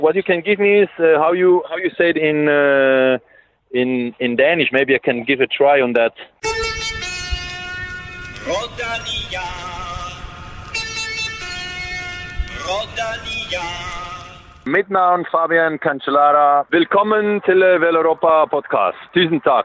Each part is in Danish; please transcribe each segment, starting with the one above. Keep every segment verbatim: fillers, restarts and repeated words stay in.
What you can give me is uh, how you how you say it in uh, in in Danish. Maybe I can give a try on that. Rodania. Rodania. Mit navn Fabian Cancellara. Velkommen til Vel Europa podcast. Tusind tak.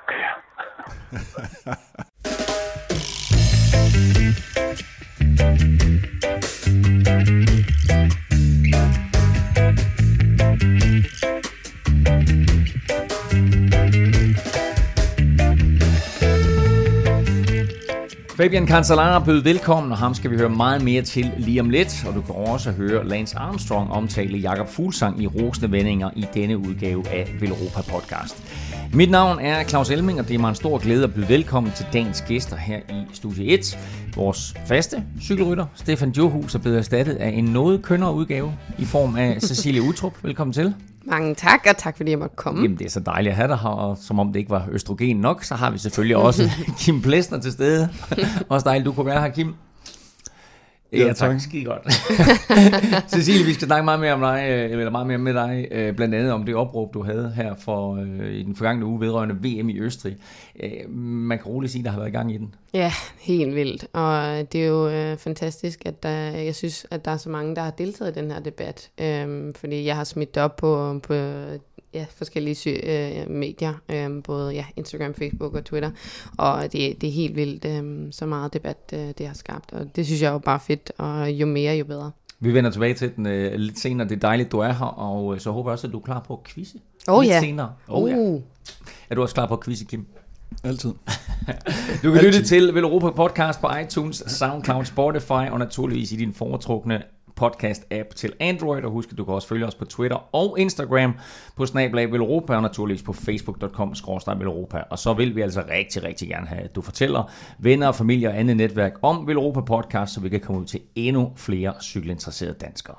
Fabian Cancellara bød velkommen, og ham skal vi høre meget mere til lige om lidt. Og du kan også høre Lance Armstrong omtale Jakob Fuglsang i rosende vendinger i denne udgave af Vel Europa podcast. Mit navn er Claus Elming, og det er mig en stor glæde at byde velkommen til dagens gæster her i Studie et. Vores faste cykelrytter, Stefan Djurhus, er blevet erstattet af en noget kønnere udgave i form af Cecilie Utrup. Velkommen til. Mange tak, og tak fordi jeg måtte komme. Jamen, det er så dejligt at have dig her, og som om det ikke var østrogen nok, så har vi selvfølgelig også Kim Plesner til stede. Også dejligt, du kunne være her, Kim. Ja, tak. Skide godt. Cecilie, vi skal snakke meget mere om dig, eller meget mere med dig, blandt andet om det opråb, du havde her for i den forgangne uge vedrørende V M i Østrig. Man kan roligt sige, at der har været i gang i den. Ja, helt vildt. Og det er jo øh, fantastisk, at der, jeg synes, at der er så mange, der har deltaget i den her debat. Øhm, fordi jeg har smidt det op på, på ja, forskellige sy- øh, medier, øh, både ja, Instagram, Facebook og Twitter. Og det, det er helt vildt, øh, så meget debat øh, det har skabt. Og det synes jeg er jo bare fedt, og jo mere, jo bedre. Vi vender tilbage til den øh, lidt senere. Det er dejligt, du er her, og øh, så håber jeg også, at du er klar på at quizze. Oh, lidt ja. senere. Oh, ja. Uh. Er du også klar på at quizze, Kim? Altid. Du kan lytte til Vel Europa podcast på iTunes, SoundCloud, Spotify og naturligvis i din foretrukne podcast-app til Android. Og husk, at du kan også følge os på Twitter og Instagram på snabel-a Vel Europa og naturligvis på facebook punktum com skråstreg Vel Europa. Og så vil vi altså rigtig, rigtig gerne have, at du fortæller venner, familie og andet netværk om Vel Europa podcast, så vi kan komme ud til endnu flere cykelinteresserede danskere.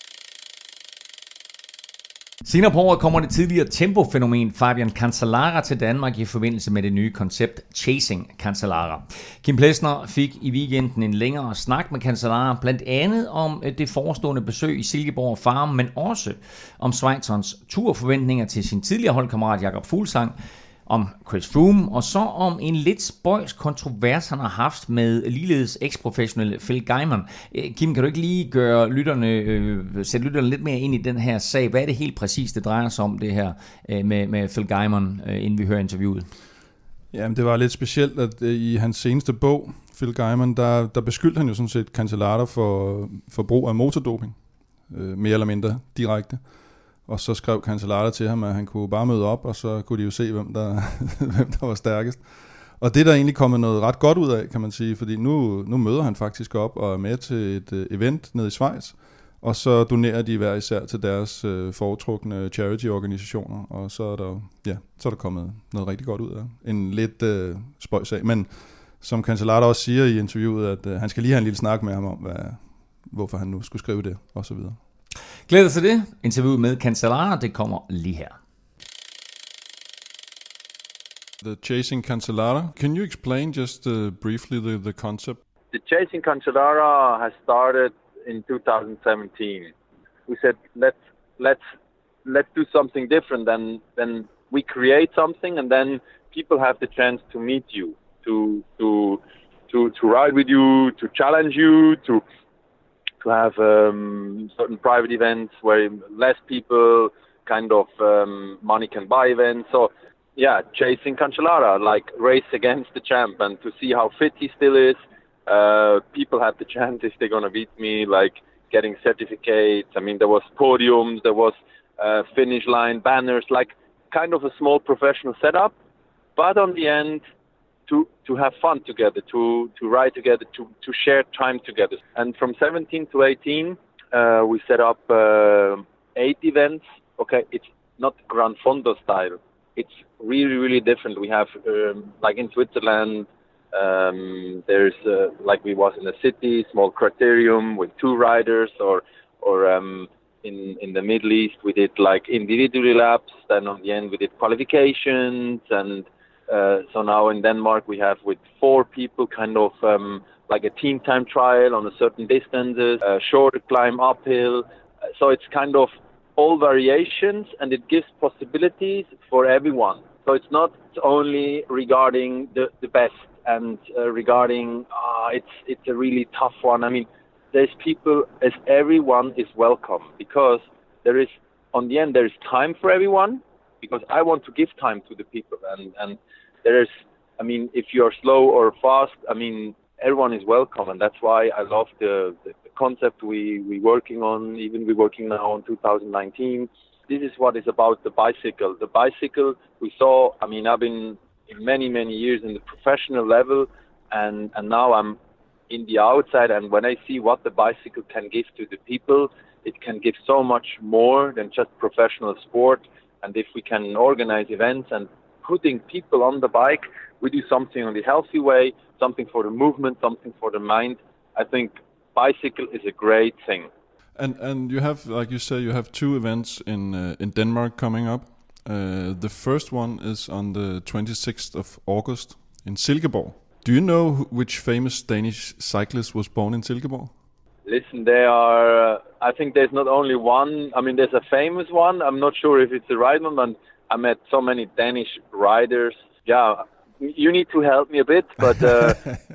Senere på året kommer det tidligere tempofænomen Fabian Cancellara til Danmark i forbindelse med det nye koncept Chasing Cancellara. Kim Plesner fik i weekenden en længere snak med Cancellara, blandt andet om det forestående besøg i Silkeborg Farm, men også om Schweizerens turforventninger til sin tidligere holdkammerat Jakob Fuglsang, om Chris Froome, og så om en lidt spøjs kontrovers, han har haft med ligeledes eksprofessionelle Phil Gaimon. Kim, kan du ikke lige gøre lytterne, øh, sætte lytterne lidt mere ind i den her sag? Hvad er det helt præcis, det drejer sig om det her øh, med, med Phil Gaimon, øh, inden vi hører interviewet? Jamen, det var lidt specielt, at øh, i hans seneste bog, Phil Gaimon, der, der beskyldte han jo sådan set Cancellara for, for brug af motordoping, øh, mere eller mindre direkte. Og så skrev Cancellara til ham, at han kunne bare møde op, og så kunne de jo se, hvem der, hvem der var stærkest. Og det er der egentlig kommet noget ret godt ud af, kan man sige, fordi nu, nu møder han faktisk op og er med til et uh, event nede i Schweiz, og så donerer de hver især til deres uh, foretrukne charity-organisationer, og så er der, ja, så er der kommet noget rigtig godt ud af. En lidt uh, spøjs sag, men som Cancellara også siger i interviewet, at uh, han skal lige have en lille snak med ham om, hvad, hvorfor han nu skulle skrive det, og så videre. Glæder dig til det. Interviewet med Cancellara, det kommer lige her. The Chasing Cancellara. Can you explain just uh, briefly the, the concept? The Chasing Cancellara has started in two thousand seventeen. We said let's let's let's do something different than than we create something and then people have the chance to meet you, to to to to ride with you, to challenge you, to to have um, certain private events where less people kind of um, money can buy events. So yeah, Chasing Cancellara, like race against the champ and to see how fit he still is. Uh, people have the chance if they're going to beat me, like getting certificates. I mean, there was podiums, there was uh, finish line banners, like kind of a small professional setup. But on the end, to to have fun together, to to ride together, to to share time together. And from seventeen to eighteen, uh, we set up uh, eight events. Okay, it's not Gran Fondo style. It's really, really different. We have, um, like in Switzerland, um, there's uh, like we was in a city, small criterium with two riders, or or um, in in the Middle East we did like individual laps. Then on the end we did qualifications and. Uh, so now in Denmark we have with four people kind of um, like a team time trial on a certain distances, a short climb uphill. So it's kind of all variations, and it gives possibilities for everyone. So it's not only regarding the, the best and uh, regarding uh, it's it's a really tough one. I mean, there's people, as everyone is welcome, because there is, on the end, there is time for everyone, because I want to give time to the people. And, and there is, I mean, if you're slow or fast, I mean, everyone is welcome. And that's why I love the, the, the concept we, we working on, even we're working now on two thousand nineteen. This is what is about the bicycle. The bicycle we saw, I mean, I've been in many, many years in the professional level, and, and now I'm in the outside, and when I see what the bicycle can give to the people, it can give so much more than just professional sport. And if we can organize events and putting people on the bike, we do something on the healthy way, something for the movement, something for the mind. I think bicycle is a great thing. And and you have, like you say, you have two events in uh, in Denmark coming up. Uh, the first one is on the twenty-sixth of August in Silkeborg. Do you know who, which famous Danish cyclist was born in Silkeborg? Listen, there are, uh, I think there's not only one. I mean, there's a famous one. I'm not sure if it's the right one, but I met so many Danish riders. Yeah, you need to help me a bit, but... Uh,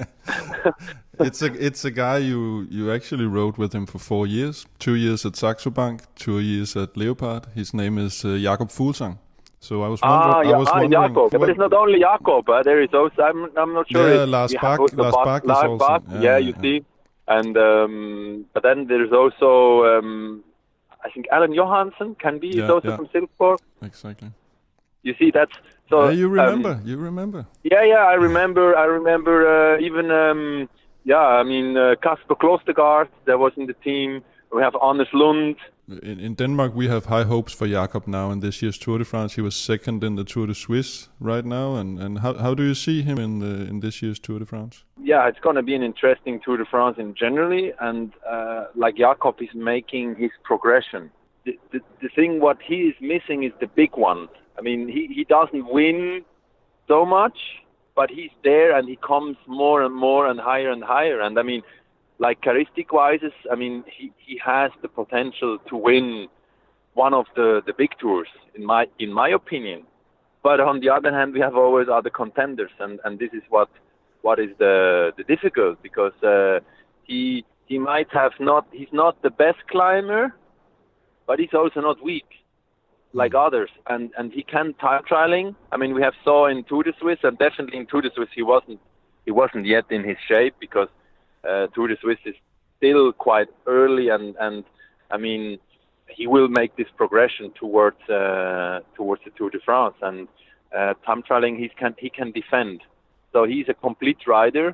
it's a it's a guy you, you actually rode with him for four years. Two years at Saxo Bank, two years at Leopard. His name is uh, Jakob Fuglsang. So I was wondering... Ah, yeah, I was ah, wondering Jakob. Yeah, but it's not only Jakob. Uh, there is also... I'm, I'm not sure... Yeah, if Lars we Bak. have Lars Bak is Lars also... Bak. Yeah, Yeah, you yeah. see. And um, but then there's also... Um, I think Alan Johansson can be. Yeah, He's also yeah. from Silkeborg. Exactly. You see, that's... So, yeah, you remember. Um, you remember. Yeah, yeah, I remember. I remember uh, even... Um, yeah, I mean, uh, Kasper Klostergaard, that was in the team. We have Anders Lund. In, in Denmark, we have high hopes for Jakob now in this year's Tour de France. He was second in the Tour de Suisse right now. And, and how how do you see him in the in this year's Tour de France? Yeah, it's going to be an interesting Tour de France in generally. And uh, like Jakob is making his progression. The, the, the thing what he is missing is the big one. I mean, he, he doesn't win so much, but he's there and he comes more and more and higher and higher. And I mean, like charistic-wise, I mean, he, he has the potential to win one of the, the big tours, in my in my opinion. But on the other hand, we have always other contenders, and, and this is what what is the the difficult, because uh, he he might have not he's not the best climber, but he's also not weak like others, and and he can time trialing. I mean, we have saw in Tour de Suisse, and definitely in Tour de Suisse he wasn't he wasn't yet in his shape, because Uh, Tour de Suisse is still quite early, and, and I mean, he will make this progression towards uh, towards the Tour de France, and uh, time trialing he can he can defend. So he's a complete rider,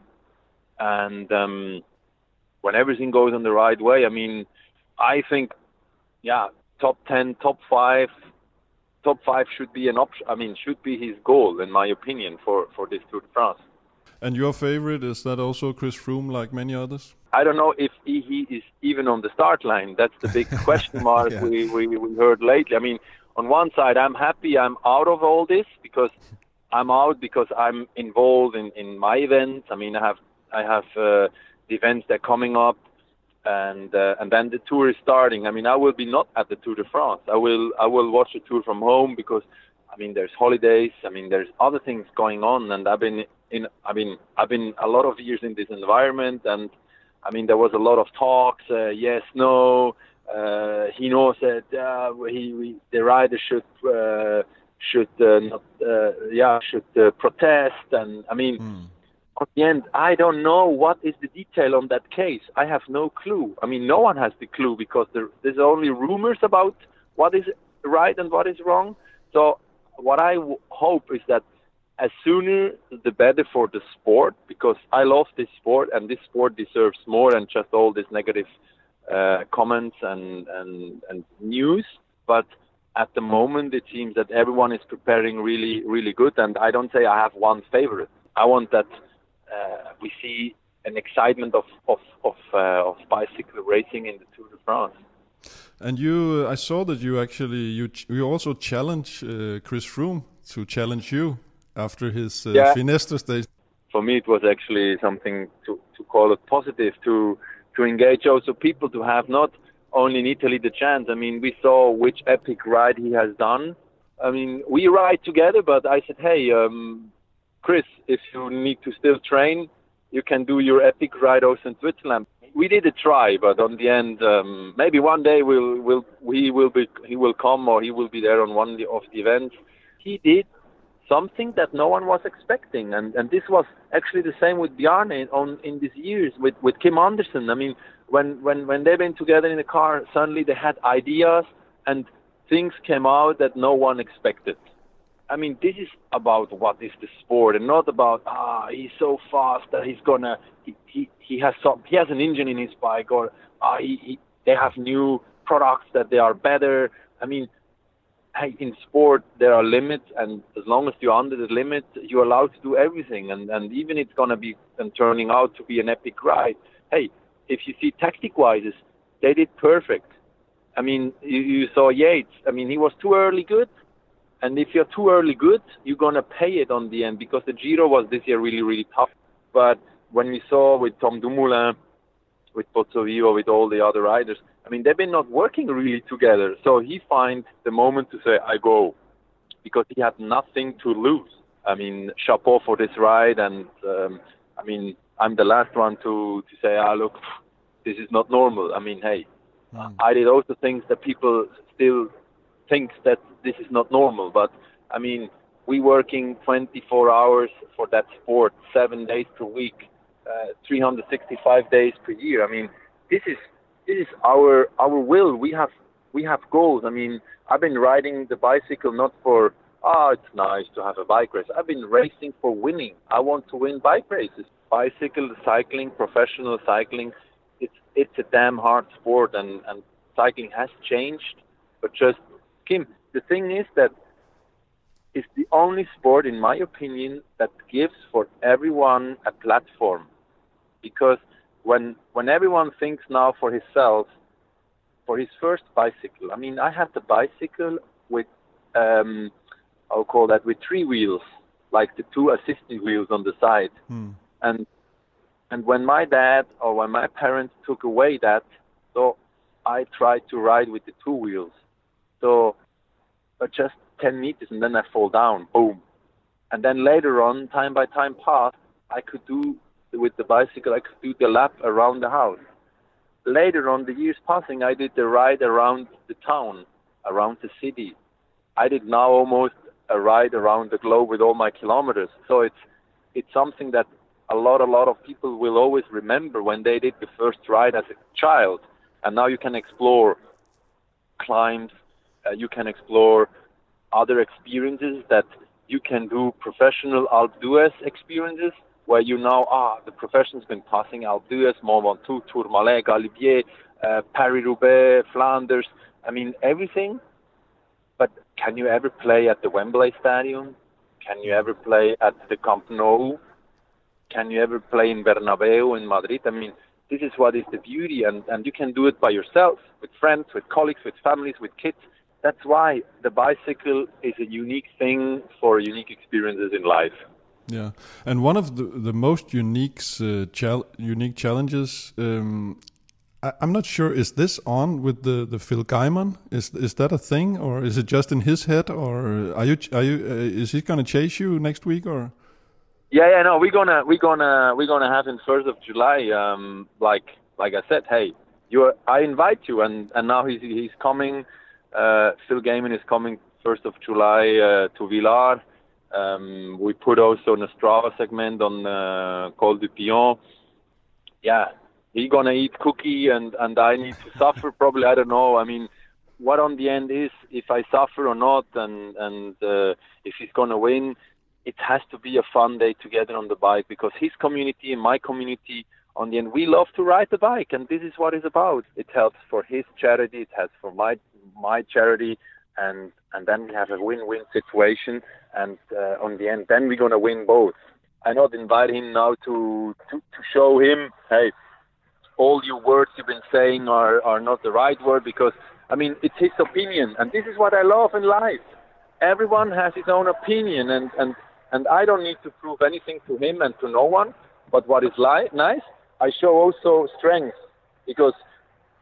and um, when everything goes on the right way, I mean, I think, yeah, top ten, top five, top five should be an option. I mean, should be his goal, in my opinion, for for this Tour de France. And your favorite, is that also Chris Froome, like many others? I don't know if he, he is even on the start line. That's the big question mark Yeah. we, we, we heard lately. I mean, on one side, I'm happy I'm out of all this, because I'm out because I'm involved in, in my events. I mean, I have I have uh, the events that are coming up, and uh, and then the tour is starting. I mean, I will be not at the Tour de France. I will I will watch the tour from home, because I mean, there's holidays. I mean, there's other things going on, and I've been in. I mean, I've been a lot of years in this environment, and I mean, there was a lot of talks. Uh, yes, no. Uh, he knows that uh, he, we, the rider should uh, should uh, not, uh, yeah, should uh, protest, and I mean, mm. at the end, I don't know what is the detail on that case. I have no clue. I mean, no one has the clue, because there, there's only rumors about what is right and what is wrong. So what I w- hope is that as sooner the better for the sport, because I love this sport, and this sport deserves more than just all these negative uh, comments and, and, and news. But at the moment, it seems that everyone is preparing really, really good. And I don't say I have one favorite. I want that uh, we see an excitement of of of, uh, of bicycle racing in the Tour de France. And you, uh, I saw that you actually you ch- you also challenge uh, Chris Froome to challenge you after his uh, yeah. Finestro stage. For me, it was actually something to, to call it positive, to to engage also people, to have not only in Italy the chance. I mean, we saw which epic ride he has done. I mean, we ride together, but I said, hey, um, Chris, if you need to still train, you can do your epic ride also in Switzerland. We did a try, but on the end, um, maybe one day we'll, we'll, he will be, he will come or he will be there on one of the events. He did something that no one was expecting, and, and this was actually the same with Bjarne on in these years with, with Kim Andersen. I mean, when, when, when they've been together in the car, suddenly they had ideas and things came out that no one expected. I mean, this is about what is the sport, and not about ah he's so fast that he's gonna he he, he has some he has an engine in his bike, or ah he, he they have new products that they are better. I mean, hey, in sport there are limits, and as long as you're under the limit, you're allowed to do everything, and and even it's gonna be and turning out to be an epic ride. Hey, if you see tactic wise, they did perfect. I mean, you, you saw Yates. I mean, he was too early good. And if you're too early good, you're going to pay it on the end, because the Giro was this year really, really tough. But when we saw with Tom Dumoulin, with Pozzovivo, with all the other riders, I mean, they've been not working really together. So he finds the moment to say, I go, because he had nothing to lose. I mean, chapeau for this ride. And, um, I mean, I'm the last one to, to say, ah, look, this is not normal. I mean, hey, mm. I did also things that people still think that this is not normal, but I mean, we working twenty-four hours for that sport, seven days per week, uh, three hundred sixty-five days per year. I mean, this is this is our our will. We have we have goals. I mean, I've been riding the bicycle not for ah, it's nice to have a bike race. I've been racing for winning. I want to win bike races. Bicycle cycling, professional cycling, it's it's a damn hard sport, and and cycling has changed, but just Kim, the thing is that it's the only sport, in my opinion, that gives for everyone a platform. Because when when everyone thinks now for himself, for his first bicycle, I mean, I had the bicycle with, um, I'll call that with three wheels, like the two assistant wheels on the side. Hmm. And and when my dad or when my parents took away that, so I tried to ride with the two wheels. So uh, just ten meters and then I fall down, boom. And then later on, time by time passed, I could do, with the bicycle, I could do the lap around the house. Later on, the years passing, I did the ride around the town, around the city. I did now almost a ride around the globe with all my kilometers. So it's it's something that a lot, a lot of people will always remember when they did the first ride as a child. And now you can explore climbs, Uh, you can explore other experiences that you can do, professional Alpe d'Huez experiences, where you know, ah, the profession's been passing Alpe d'Huez, Mont Ventoux, Tourmalet, Galibier, uh, Paris-Roubaix, Flanders, I mean, everything. But can you ever play at the Wembley Stadium? Can you ever play at the Camp Nou? Can you ever play in Bernabeu in Madrid? I mean, this is what is the beauty, and, and you can do it by yourself, with friends, with colleagues, with families, with kids. That's why the bicycle is a unique thing for unique experiences in life. Yeah, and one of the, the most unique uh, chal- unique challenges, um, I, I'm not sure, is this on with the, the Phil Gaimon? Is is that a thing, or is it just in his head, or are you are you uh, is he going to chase you next week, or? Yeah, yeah, no, we're gonna we're gonna we're gonna have in first of July. Um, like like I said, hey, you I invite you, and and now he's he's coming. Uh, Phil Gaimon is coming first of July uh, to Villars. Um, we put also a Strava segment on uh, Col du Pion. Yeah, he's gonna eat cookie, and, and I need to suffer probably. I don't know. I mean, what on the end is if I suffer or not, and and uh, if he's gonna win, it has to be a fun day together on the bike, because his community and my community, on the end, we love to ride the bike, and this is what it's about. It helps for his charity, it helps for my my charity, and and then we have a win-win situation, and uh, on the end, then we're gonna win both. I not invite him now to, to to show him, hey, all your words you've been saying are are not the right word, because I mean, it's his opinion, and this is what I love in life. Everyone has his own opinion, and and and I don't need to prove anything to him and to no one. But what is li- nice, I show also strength, because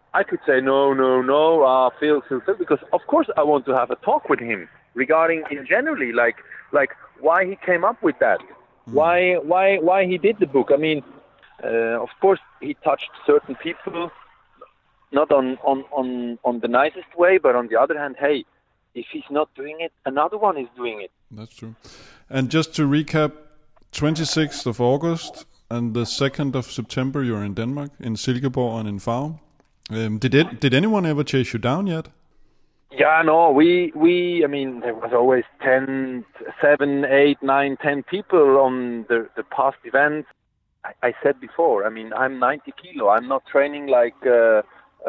I could say no, no, no, uh, Phil, Phil, Phil, because of course I want to have a talk with him regarding in generally, like, like why he came up with that, mm. why, why, why he did the book. I mean, uh, of course he touched certain people, not on, on, on, on the nicest way, but on the other hand, hey, if he's not doing it, another one is doing it. That's true. And just to recap, twenty-sixth of August and the second of September, you're in Denmark, in Silkeborg and in Farum. Um, did it? Did anyone ever chase you down yet? Yeah, no. We we. I mean, there was always ten, seven, eight, nine, ten people on the the past events. I, I said before. I mean, I'm ninety kilo. I'm not training like. Uh,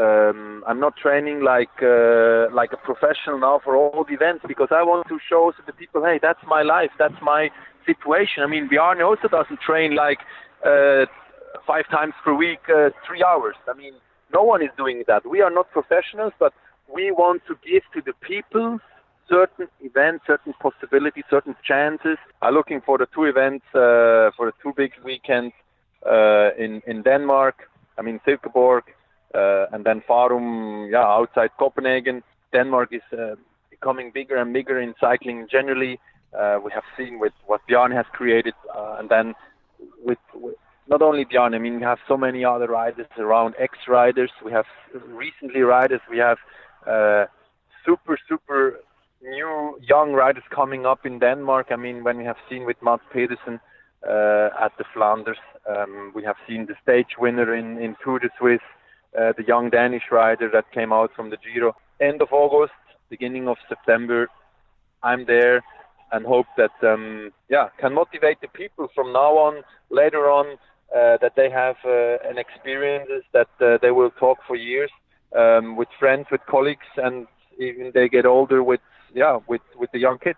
um, I'm not training like uh, like a professional now for all the events because I want to show to the people, hey, that's my life. That's my situation. I mean, Bjarne also doesn't train like uh, five times per week, uh, three hours. I mean. No one is doing that. We are not professionals, but we want to give to the people certain events, certain possibilities, certain chances. I'm looking for the two events, uh, for the two big weekends uh, in, in Denmark. I mean, Silkeborg, uh, and then Farum, yeah, outside Copenhagen. Denmark is uh, becoming bigger and bigger in cycling generally. Uh, we have seen with what Bjarne has created, uh, and then with, with not only Bjarne, I mean, we have so many other riders around, ex-riders. We have recently riders. We have uh, super, super new young riders coming up in Denmark. I mean, when we have seen with Mads Pedersen uh, at the Flanders, um, we have seen the stage winner in, in Tour de Suisse, uh, the young Danish rider that came out from the Giro. End of August, beginning of September, I'm there and hope that, um, yeah, can motivate the people from now on, later on, Uh, that they have uh, an experiences that uh, they will talk for years um, with friends, with colleagues, and even they get older with, yeah, with, with the young kids.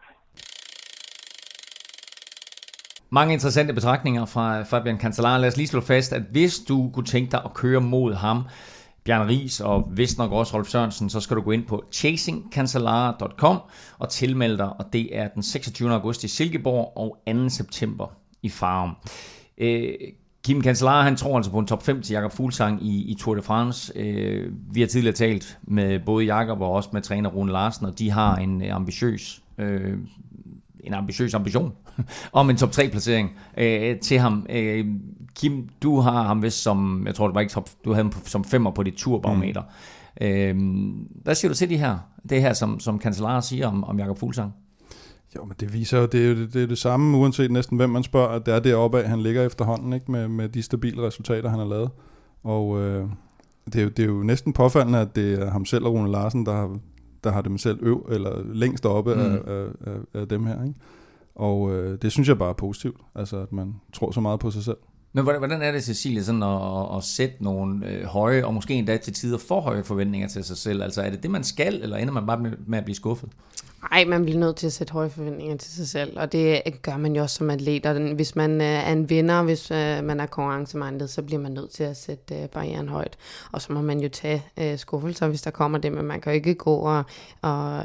Mange interessante betragtninger fra Fabian Cancellara. Lad os lige slå fast, at hvis du kunne tænke dig at køre mod ham, Bjarne Riis og vist nok også Rolf Sørensen, så skal du gå ind på chasing cancellara punktum com og tilmelde dig, og det er den seksogtyvende august i Silkeborg og anden september i Farum. Øh, Kim Cancellara, han tror altså på en top fem til Jakob Fuglsang i, i Tour de France. Øh, vi har tidligere talt med både Jakob og også med træner Rune Larsen, og de har en ambitiøs, øh, en ambitiøs ambition om en top tre placering øh, til ham. Øh, Kim, du har ham vist som, jeg tror det var ikke top, du havde ham som femmer på dit turbarometer. Mm. Øh, hvad siger du til de her, det her, som, som Cancellara siger om, om Jakob Fuglsang? Jo, men det viser jo, det er jo det, det, er det samme, uanset næsten hvem man spørger, at det er deroppe af, han ligger efterhånden, ikke, med, med de stabile resultater, han har lavet. Og øh, det, er jo, det er jo næsten påfaldende, at det er ham selv og Rune Larsen, der har, der har dem selv øv, eller længst oppe mm. af, af, af, af dem her. Ikke? Og øh, det synes jeg bare er positivt, altså at man tror så meget på sig selv. Men hvordan er det, Cecilie, sådan at, at sætte nogle øh, høje, og måske endda til tider for høje forventninger til sig selv? Altså er det det, man skal, eller ender man bare med, med at blive skuffet? Nej, man bliver nødt til at sætte høje forventninger til sig selv, og det gør man jo også som atlet. Og hvis man er en vinder, hvis man er konkurrencemindet, så bliver man nødt til at sætte barrieren højt. Og så må man jo tage skuffelser, hvis der kommer det, men man kan jo ikke gå og, og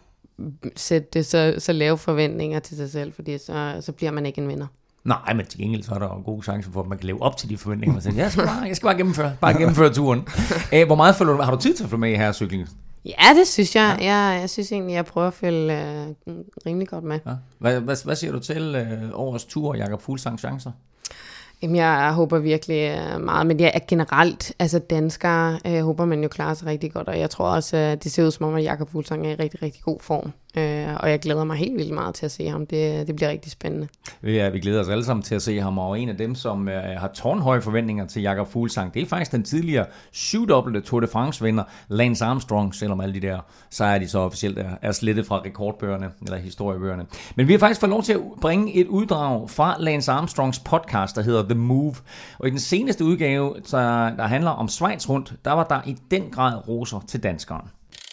sætte det så, så lave forventninger til sig selv, fordi så, så bliver man ikke en vinder. Nej, men til gengæld så er der en god chance for, at man kan leve op til de forventninger. Man siger, jeg skal bare, jeg skal bare gennemføre, bare gennemføre turen. Æh, hvor meget følger du, har du tid til at følge med i her cykling? Ja, det synes jeg. Ja. Jeg, jeg synes egentlig, jeg prøver at følge øh, rimelig godt med. Ja. Hvad, hvad, hvad siger du til øh, årets tur og Jakob Fuglsangs chancer? Jamen, jeg håber virkelig meget, men jeg er generelt, altså danskere, øh, håber man jo klarer sig rigtig godt, og jeg tror også, at det ser ud som om, at Jakob Fuglsang er i rigtig, rigtig god form, øh, og jeg glæder mig helt vildt meget til at se ham. Det, det bliver rigtig spændende. Ja, vi glæder os alle sammen til at se ham, og en af dem, som øh, har tårnhøje forventninger til Jakob Fuglsang, det er faktisk den tidligere syvdobbelte Tour de France-vinder, Lance Armstrong, selvom alle de der sejre, de så officielt er, er slettet fra rekordbøgerne, eller historiebøgerne. Men vi har faktisk fået lov til at bringe et uddrag fra Lance Armstrongs podcast, der hedder The Move. Og i den seneste udgave, der, der handler om Schweiz rundt, der var der i den grad roser til danskeren.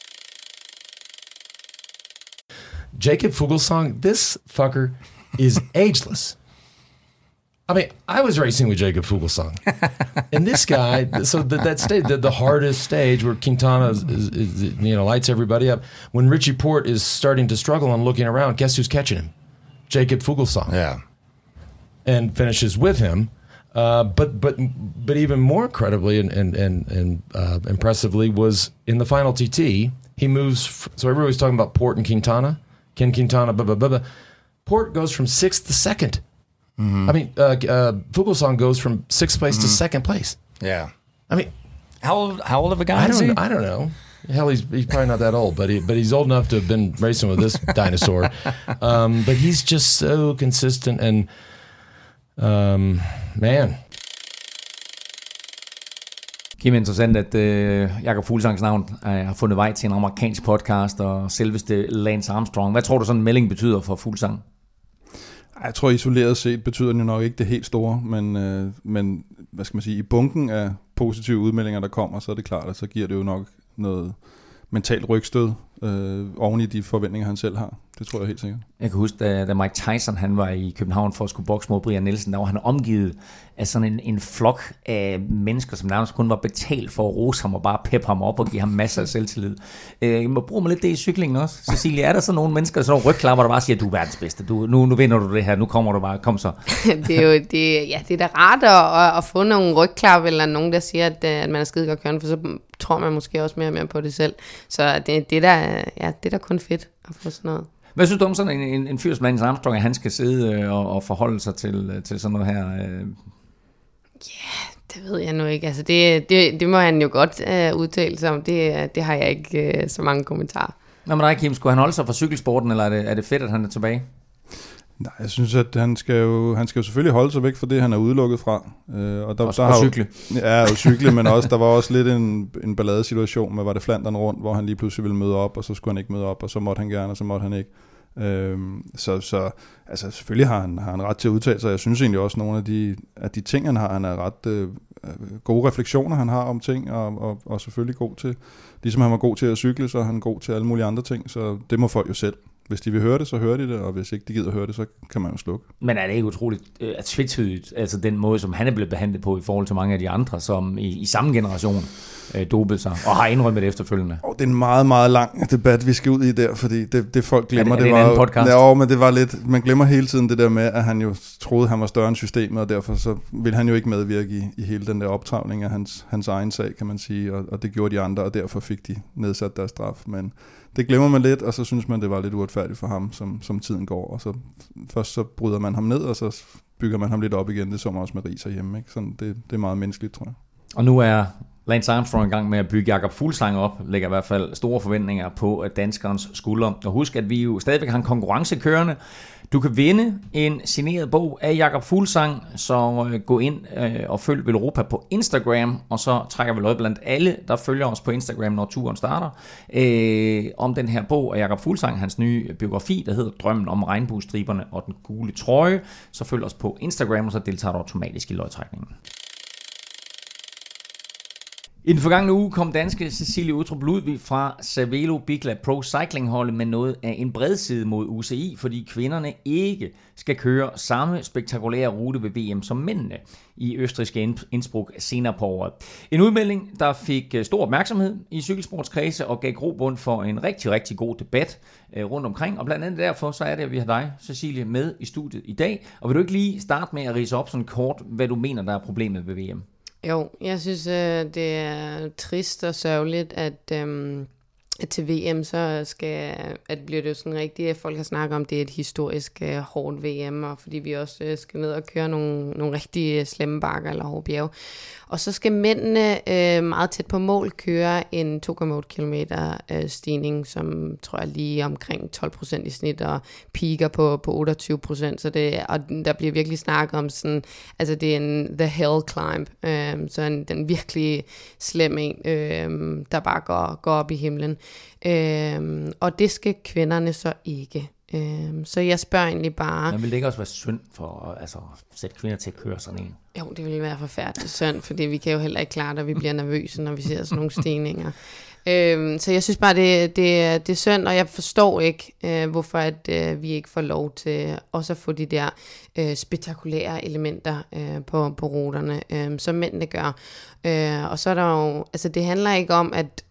Jakob Fuglsang, this fucker is ageless. I mean, I was racing with Jakob Fuglsang, and this guy. So the, that stage, the, the hardest stage where Quintana is, is, is, you know, lights everybody up. When Richie Porte is starting to struggle and looking around, guess who's catching him? Jakob Fuglsang. Yeah, and finishes with him. Uh, but but but even more incredibly and and and, and uh, impressively was in the final T T. He moves. F- so everybody's talking about Port and Quintana, Ken Quintana, blah blah blah. blah. Port goes from sixth to second. Mm-hmm. I mean, uh, uh, Fuglsang goes from sixth place mm-hmm. to second place. Yeah. I mean, how old? How old of a guy I is don't. he? I don't know. Hell, he's he's probably not that old, but he, but he's old enough to have been racing with this dinosaur. Um, but he's just so consistent and um, man. Kim, interessant, at øh, Jakob Fuglsangs navn øh, har fundet vej til en amerikansk podcast, og selveste Lance Armstrong. Hvad tror du sådan en melding betyder for Fuglsang? Jeg tror isoleret set betyder den jo nok ikke det helt store, men, øh, men hvad skal man sige, i bunken af positive udmeldinger, der kommer, så er det klart, at så giver det jo nok noget mentalt rygstød øh, oven i de forventninger, han selv har. Det tror jeg helt sikkert. Jeg kan huske, da, da Mike Tyson han var i København for at skulle bokse mod Brian Nielsen, der var han omgivet af sådan en, en flok af mennesker, som nærmest kun var betalt for at rose ham og bare peppe ham op og give ham masser af selvtillid. Øh, man bruger man lidt det i cyklingen også. Cecilie, er der så nogle mennesker, sådan nogle rygklapper, der bare siger, du er verdens bedste, du, nu, nu vinder du det her, nu kommer du bare, kom så. Det er jo det, ja, det er da rart at, at få nogle rygklapper, eller nogen, der siger, at, at man er skide godt kørende, for så tror man måske også mere og mere på det selv. Så det, det, der, ja, det er da kun fedt at få sådan noget. Hvad synes du om sådan en, en, en fyr som Lance Armstrong, at han skal sidde og, og forholde sig til, til sådan noget her? Ja, yeah, det ved jeg nu ikke. Altså det, det, det må han jo godt uh, udtale sig om. Det, det har jeg ikke uh, så mange kommentarer. Nå, men dig, Kim, skulle han holde sig fra cykelsporten, eller er det, er det fedt, at han er tilbage? Nej, jeg synes, at han skal jo, han skal jo selvfølgelig holde sig væk fra det, han er udelukket fra. Øh, og der, også, der og har cykle. Jo, ja, og cykle, men også, der var også lidt en, en balladesituation med, var det Flandern rundt, hvor han lige pludselig ville møde op, og så skulle han ikke møde op, og så måtte han gerne, og så måtte han ikke. Øhm, så, så altså, selvfølgelig har han, har han ret til at udtale sig. Jeg synes egentlig også, at nogle af de, af de ting, han har, han er ret øh, gode refleksioner, han har om ting, og, og, og selvfølgelig god til, ligesom han var god til at cykle, så er han god til alle mulige andre ting, så det må folk jo selv. Hvis de vil høre det, så hører de det, og hvis ikke de gider høre det, så kan man jo slukke. Men er det ikke utroligt øh, tvetydigt, altså den måde, som han er blevet behandlet på i forhold til mange af de andre, som i, i samme generation øh, dopede sig, og har indrømmet det efterfølgende? Oh, det er en meget, meget lang debat, vi skal ud i der, fordi det, det folk glemmer, er det, er det, det var podcast? Ja, men det var lidt, man glemmer hele tiden det der med, at han jo troede, han var større end systemet, og derfor så ville han jo ikke medvirke i, i hele den der optravning af hans, hans egen sag, kan man sige, og, og det gjorde de andre, og derfor fik de nedsat deres straf, men det glemmer man lidt, og så synes man, det var lidt uretfærdigt for ham, som, som tiden går. Og så først så bryder man ham ned, og så bygger man ham lidt op igen. Det så man også med Ries herhjemme. Ikke? Sådan, det, det er meget menneskeligt, tror jeg. Og nu er Lance Armstrong i gang med at bygge Jakob Fuglsang op, lægger i hvert fald store forventninger på danskerens skuldre. Og husk, at vi jo stadigvæk har en konkurrence kørende. Du kan vinde en signeret bog af Jakob Fuglsang, så gå ind og følg Velropa på Instagram, og så trækker vi løg blandt alle, der følger os på Instagram, når turen starter, øh, om den her bog af Jakob Fuglsang, hans nye biografi, der hedder Drømmen om regnbuestriberne og den gule trøje. Så følg os på Instagram, og så deltager du automatisk i løgtrækningen. I den forgangne uge kom danske Cecilie Uttrup Ludvig fra Cervelo Bicla Pro Cycling holdet med noget af en bredside mod U C I, fordi kvinderne ikke skal køre samme spektakulære rute ved V M som mændene i østrigske Innsbruck senere på året. En udmelding, der fik stor opmærksomhed i cykelsportskredse og gav grobund for en rigtig, rigtig god debat rundt omkring. Og blandt andet derfor, så er det, at vi har dig, Cecilie, med i studiet i dag. Og vil du ikke lige starte med at ridse op sådan kort, hvad du mener, der er problemet ved V M? Jo, jeg synes, det er trist og sørgeligt, at, øhm, at til V M, så skal, at bliver det jo sådan rigtigt, at folk har snakket om, det er et historisk øh, hårdt V M, og fordi vi også øh, skal ned og køre nogle, nogle rigtig slemme bakker eller hårde bjerge. Og så skal mændene øh, meget tæt på mål køre en to komma otte kilometer øh, stigning, som tror jeg lige omkring tolv procent i snit, og piker på, på otteogtyve procent. Så det, og der bliver virkelig snakket om sådan, altså det er en the hell climb, øh, så en, den virkelig slem en, øh, der bare går, går op i himlen. Øh, og det skal kvinderne så ikke. Øhm, så jeg spørger egentlig bare... Men vil det ikke også være synd for altså, at sætte kvinder til at køre sådan en? Jo, det ville være forfærdeligt synd, fordi vi kan jo heller ikke klare det, at vi bliver nervøse, når vi ser sådan nogle stigninger. Øhm, så jeg synes bare, det, det, det er synd, og jeg forstår ikke, øh, hvorfor at, øh, vi ikke får lov til også at få de der øh, spektakulære elementer øh, på, på ruterne, øh, som mændene gør. Øh, og så er der jo... Altså, det handler ikke om, at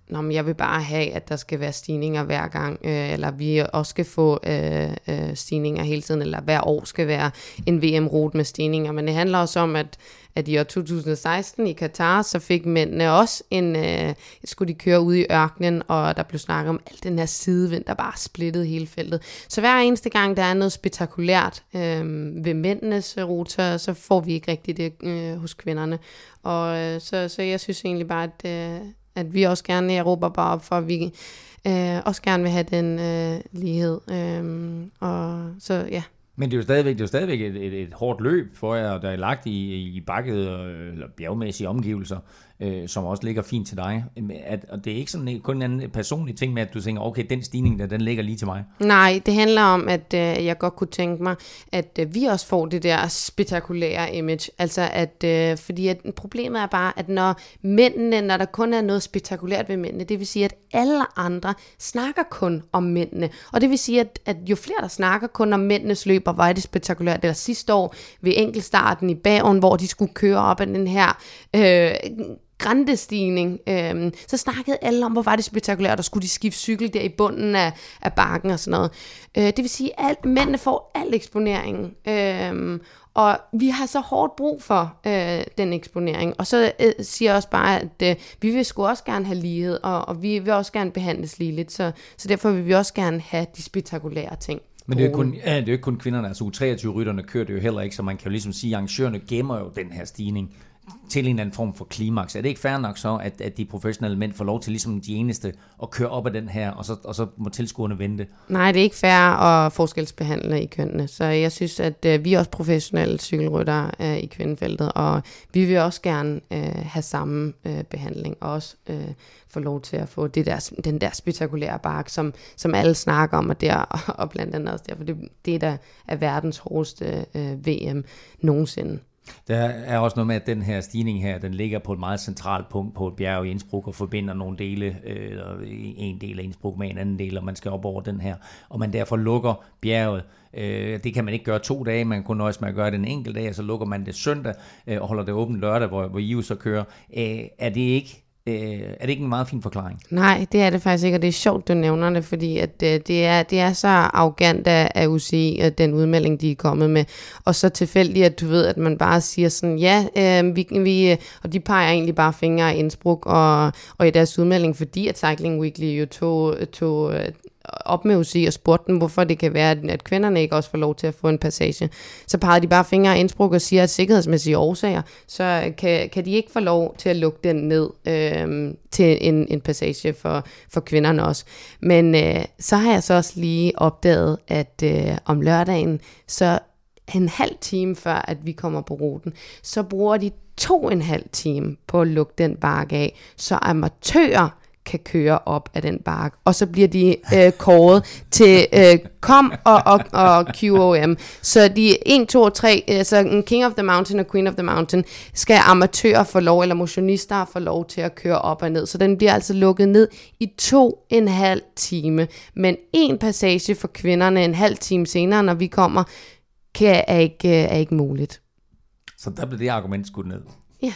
Nå, men jeg vil bare have, at der skal være stigninger hver gang, øh, eller vi også skal få øh, øh, stigninger hele tiden, eller hver år skal være en V M-rute med stigninger. Men det handler også om, at, at i år to tusind og seksten i Katar, så fik mændene også en, øh, skulle de køre ud i ørkenen, og der blev snakket om al den her sidevind, der bare splittede hele feltet. Så hver eneste gang, der er noget spektakulært øh, ved mændenes ruter, så får vi ikke rigtigt det øh, hos kvinderne. Og øh, så, så jeg synes egentlig bare, at, øh, at vi også gerne i Europa bare op for, at vi øh, også gerne vil have den øh, lighed. Øh, og så ja. Men det er jo stadigvæk, det er jo stadigvæk et, et, et hårdt løb for jer, der er lagt i, i bakket eller bjergmæssige omgivelser, øh, som også ligger fint til dig. At, og det er ikke sådan kun en anden personlig ting med, at du tænker, okay, den stigning der, den ligger lige til mig. Nej, det handler om, at øh, jeg godt kunne tænke mig, at øh, vi også får det der spektakulære image. Altså, at, øh, fordi at problemet er bare, at når mændene, når der kun er noget spektakulært ved mændene, det vil sige, at alle andre snakker kun om mændene. Og det vil sige, at, at jo flere, der snakker kun om mændenes løb, og hvor er det spektakulært. Eller sidste år ved enkeltstarten i Bergen, hvor de skulle køre op ad den her øh, grandestigning, øh, så snakkede alle om, hvor var det spektakulært, og skulle de skifte cykel der i bunden af, af bakken og sådan noget. Øh, det vil sige, at mændene får al eksponeringen. Øh, og vi har så hårdt brug for øh, den eksponering. Og så øh, siger jeg også bare, at øh, vi vil sgu også gerne have lighed, og, og vi vil også gerne behandles ligeligt. Så, så derfor vil vi også gerne have de spektakulære ting. Men det er jo kun, ja, det er jo ikke kun kvinderne, altså U treogtyve-rytterne kører det jo heller ikke, så man kan jo ligesom sige, at arrangørerne gemmer jo den her stigning til en eller anden form for klimaks. Er det ikke fair nok så, at, at de professionelle mænd får lov til ligesom de eneste at køre op ad den her, og så, og så må tilskuerne vente? Nej, det er ikke fair at forskelsbehandle i kønnene, så jeg synes, at øh, vi er også professionelle cykelryttere øh, i kvindefeltet, og vi vil også gerne øh, have samme øh, behandling, og også øh, få lov til at få det der, den der spektakulære bark, som, som alle snakker om, og, der, og, og blandt andet også derfor, det, det der er verdens hårdeste øh, V M nogensinde. Der er også noget med, at den her stigning her, den ligger på et meget centralt punkt på et bjerg i Innsbruck og forbinder nogle dele, øh, en del af Innsbruck med en anden del, og man skal op over den her, og man derfor lukker bjerget. Øh, det kan man ikke gøre to dage, man kan kun nøjes med at gøre det en enkelt dag, og så lukker man det søndag øh, og holder det åbent lørdag, hvor, hvor I jo så kører. Øh, er det ikke er det ikke en meget fin forklaring? Nej, det er det faktisk ikke, og det er sjovt, du nævner det, fordi at, øh, det, er, det er så arrogant af, af U C I, at den udmelding, de er kommet med, og så tilfældigt, at du ved, at man bare siger sådan, ja, øh, vi, vi, og de peger egentlig bare fingre i Innsbruck og, og i deres udmelding, fordi at Cycling Weekly jo tog, tog op med U C I og spurgte dem, hvorfor det kan være, at kvinderne ikke også får lov til at få en passage. Så pegede de bare fingre i Innsbruck og siger, at sikkerhedsmæssige årsager, så kan, kan de ikke få lov til at lukke den ned øh, til en, en passage for, for kvinderne også. Men øh, så har jeg så også lige opdaget, at øh, om lørdagen, så en halv time før, at vi kommer på ruten, så bruger de to og en halv time på at lukke den bakke af, så amatører kan køre op af den bakke, og så bliver de øh, kåret til øh, kom og, og, og Q O M. Så de en, to og tre, altså King of the Mountain og Queen of the Mountain, skal amatører få lov, eller motionister få lov til at køre op og ned. Så den bliver altså lukket ned i to og en halv time. Men en passage for kvinderne en halv time senere, når vi kommer, kan, er, ikke, er ikke muligt. Så der bliver det argument skudt ned. Ja.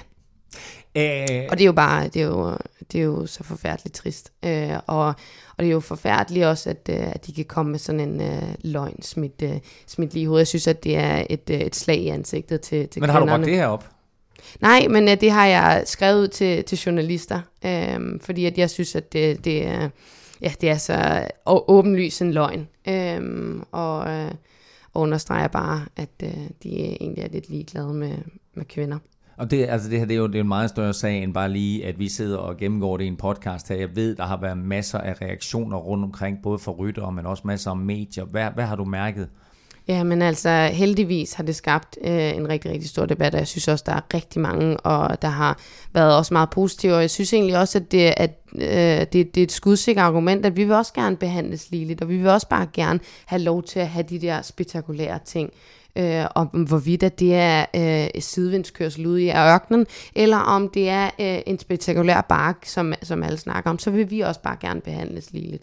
Æh... Og det er jo bare, det er jo, det er jo så forfærdeligt trist. Øh, og, og det er jo forfærdeligt også, at, at de kan komme med sådan en uh, løgn smidt, uh, smidt lige i hovedet. Jeg synes, at det er et, uh, et slag i ansigtet til, til Men kvinderne. har du bragt det her op? Nej, men uh, det har jeg skrevet ud til, til journalister, øh, fordi at jeg synes, at det, det, er, ja, det er så åbenlyst en løgn. Øh, og, øh, og understreger bare, at øh, de egentlig er lidt ligeglade med, med kvinder. Og det, altså det her, det er jo det er en meget større sag, end bare lige, at vi sidder og gennemgår det i en podcast her. Jeg ved, der har været masser af reaktioner rundt omkring, både for ryttere, men også masser af medier. Hvad, hvad har du mærket? Ja, men altså heldigvis har det skabt øh, en rigtig, rigtig stor debat, og jeg synes også, der er rigtig mange, og der har været også meget positive, og jeg synes egentlig også, at det, at, øh, det, det er et skudsikkert argument, at vi vil også gerne behandles ligeligt, og vi vil også bare gerne have lov til at have de der spektakulære ting. Øh, om hvorvidt at det er øh, sidevindskørsel ude i ørkenen, eller om det er øh, en spektakulær bark, som, som alle snakker om, så vil vi også bare gerne behandles ligeligt.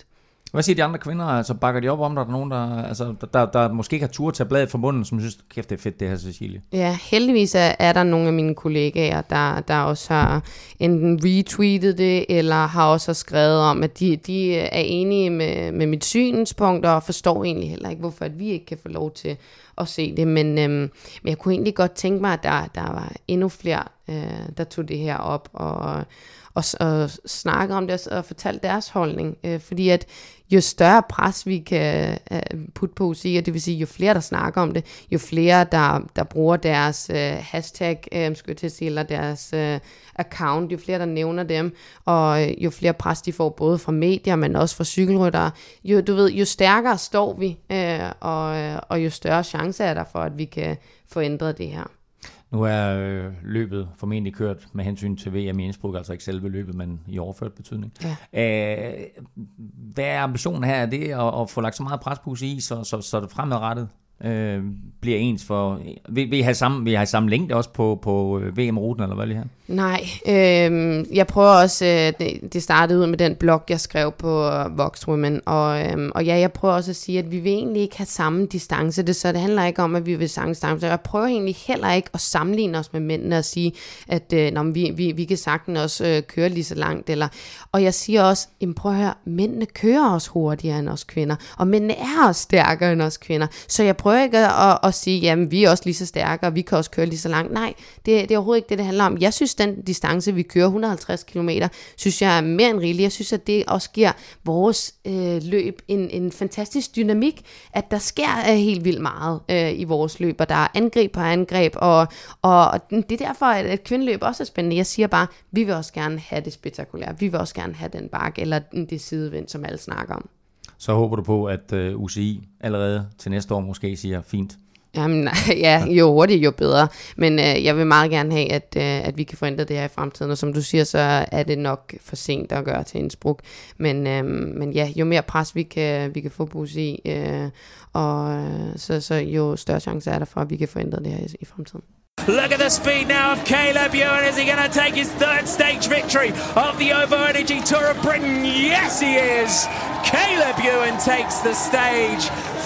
Hvad siger de andre kvinder? Altså, bakker de op om, der er nogen, der, altså, der, der, der måske ikke har tur til bladet fra munden, som synes, kæft, det er fedt, det her, Cecilie? Ja, heldigvis er, er der nogle af mine kollegaer, der, der også har enten retweetet det, eller har også skrevet om, at de, de er enige med, med mit synspunkt, og forstår egentlig heller ikke, hvorfor at vi ikke kan få lov til at se det. Men, øhm, men jeg kunne egentlig godt tænke mig, at der, der var endnu flere, øh, der tog det her op, og og, og snakke om det og fortælle deres holdning, øh, fordi at jo større pres vi kan øh, putte på U C I, og det vil sige jo flere der snakker om det, jo flere der, der bruger deres øh, hashtag, øh, skulle jeg til at sige, eller deres øh, account, jo flere der nævner dem, og øh, jo flere pres de får både fra medier, men også fra cykelryttere, jo, du ved, jo stærkere står vi, øh, og, og jo større chance er der for, at vi kan få ændret det her. Nu er øh, løbet formentlig kørt med hensyn til V M i Innsbruck, altså ikke selve løbet, men i overført betydning. Ja. Æh, hvad er ambitionen her? Er det at, at få lagt så meget pres på U C I, så, så, så det fremadrettet øh, bliver ens for... Vil, vil I have samme, vil I have samme længde også på, på V M-ruten, eller hvad vil I have? Nej, øh, jeg prøver også, øh, det, det startede ud med den blog, jeg skrev på Vox Women, og, øh, og ja, jeg prøver også at sige, at vi vil egentlig ikke have samme distance, det, så det handler ikke om, at vi vil samme distance, jeg prøver egentlig heller ikke at sammenligne os med mændene og sige, at øh, når vi, vi, vi kan sagtens også øh, køre lige så langt, eller, og jeg siger også, jamen prøv at høre, mændene kører også hurtigere end os kvinder, og mændene er også stærkere end os kvinder, så jeg prøver ikke at, at, at sige, jamen vi er også lige så stærke, og vi kan også køre lige så langt, nej, det, det er overhovedet ikke det, det handler om. Jeg synes, den distance, vi kører, et hundrede og halvtreds kilometer, synes jeg er mere end rigeligt. Jeg synes, at det også giver vores øh, løb en, en fantastisk dynamik, at der sker øh, helt vildt meget øh, i vores løb, og der er angreb på angreb, og, og det er derfor, at et kvindeløb også er spændende. Jeg siger bare, vi vil også gerne have det spektakulære. Vi vil også gerne have den bakke, eller det sidevind, som alle snakker om. Så håber du på, at øh, U C I allerede til næste år måske siger, fint. Jamen, ja, jo hurtigt, jo bedre. Men øh, jeg vil meget gerne have, at, øh, at vi kan forændre det her i fremtiden. Og som du siger, så er det nok for sent at gøre til Innsbruck. Men, øh, men ja, jo mere pres vi kan, vi kan få på U C I, øh, og så, så jo større chance er der for, at vi kan forændre det her i, i fremtiden. Look at the speed now of Caleb Ewan. Is he going to take his third stage victory of the Ovo Energy Tour of Britain? Yes, he is. Caleb Ewan takes the stage.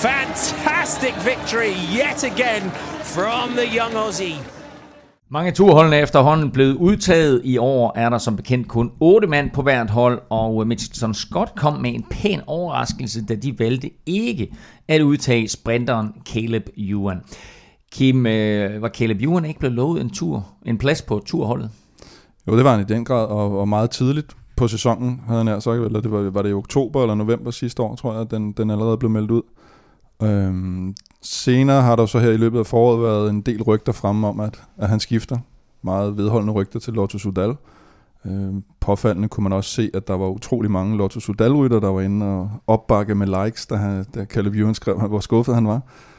Fantastic victory yet again from the young Aussie. Mange turholdene er efterhånden blevet udtaget. I år er der som bekendt kun otte mand på hvert hold, og Mitchelton Scott kom med en pæn overraskelse, da de valgte ikke at udtage sprinteren Caleb Ewan. Kim, øh, var Caleb Ewan ikke blevet lovet en tur, en plads på turholdet? Jo, det var han i den grad, og, og meget tidligt på sæsonen, havde han nær sagt, eller det var, var det i oktober eller november sidste år, tror jeg, at den, den allerede blev meldt ud. Øhm, senere har der så her i løbet af foråret været en del rygter fremme om, at, at han skifter. Meget vedholdende rygter til Lotto Soudal. Øhm, påfaldende kunne man også se, at der var utrolig mange Lotto Soudal-rytter, der var inde og opbakke med likes, da, han, da Caleb Ewan skrev, hvor skuffet han var.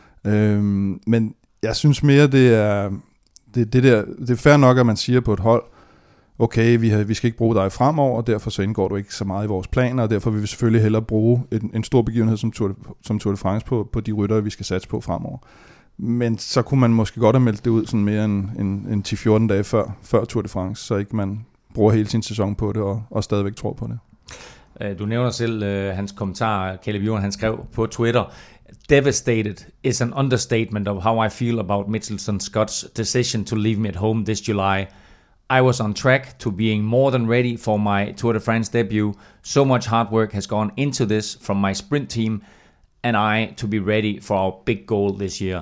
Øhm, men jeg synes mere, det er, det, det, der, det er fair nok, at man siger på et hold, okay, vi, har, vi skal ikke bruge dig fremover, og derfor så indgår du ikke så meget i vores planer, og derfor vil vi selvfølgelig hellere bruge en, en stor begivenhed som Tour de, som Tour de France på, på de ryttere, vi skal satse på fremover. Men så kunne man måske godt have meldt det ud sådan mere end, end, end ti fjorten dage før, før Tour de France, så ikke man bruger hele sin sæson på det, og, og stadigvæk tror på det. Du nævner selv uh, hans kommentar, Caleb Ewan, han skrev på Twitter, "Devastated is an understatement of how I feel about Mitchelton Scott's decision to leave me at home this July. I was on track to being more than ready for my Tour de France debut. So much hard work has gone into this from my sprint team, and I to be ready for our big goal this year."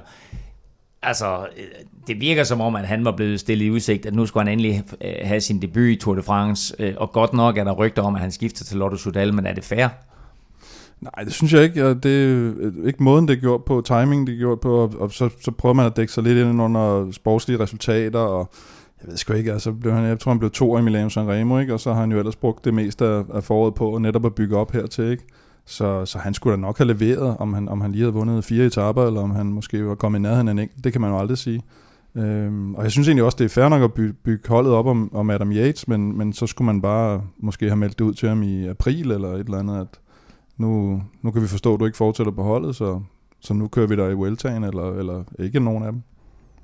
Altså, det virker som om, at han var blevet stillet i udsigt, at nu skulle han endelig have sin debut i Tour de France, og godt nok er der rygter om, at han skifter til Lotto Soudal, men er det fair? Nej, det synes jeg ikke. Det er ikke måden, det er gjort på, timing det er gjort på, og, og så, så prøver man at dække sig lidt ind under sportslige resultater, og jeg ved sgu ikke, altså blev han, jeg tror han blev to i Milano Sanremo, ikke? Og så har han jo ellers brugt det meste af, af foråret på netop at bygge op hertil, ikke? Så, så han skulle da nok have leveret, om han, om han lige havde vundet fire etaper, eller om han måske var kommet i nærheden af en enkelt, det kan man jo aldrig sige. Øhm, og jeg synes egentlig også, det er fair nok at bygge, bygge holdet op om, om Adam Yates, men, men så skulle man bare måske have meldt det ud til ham i april, eller et eller andet, at nu, nu kan vi forstå, at du ikke fortsætter på holdet, så, så nu kører vi der i Vueltaen, eller, eller ikke nogen af dem.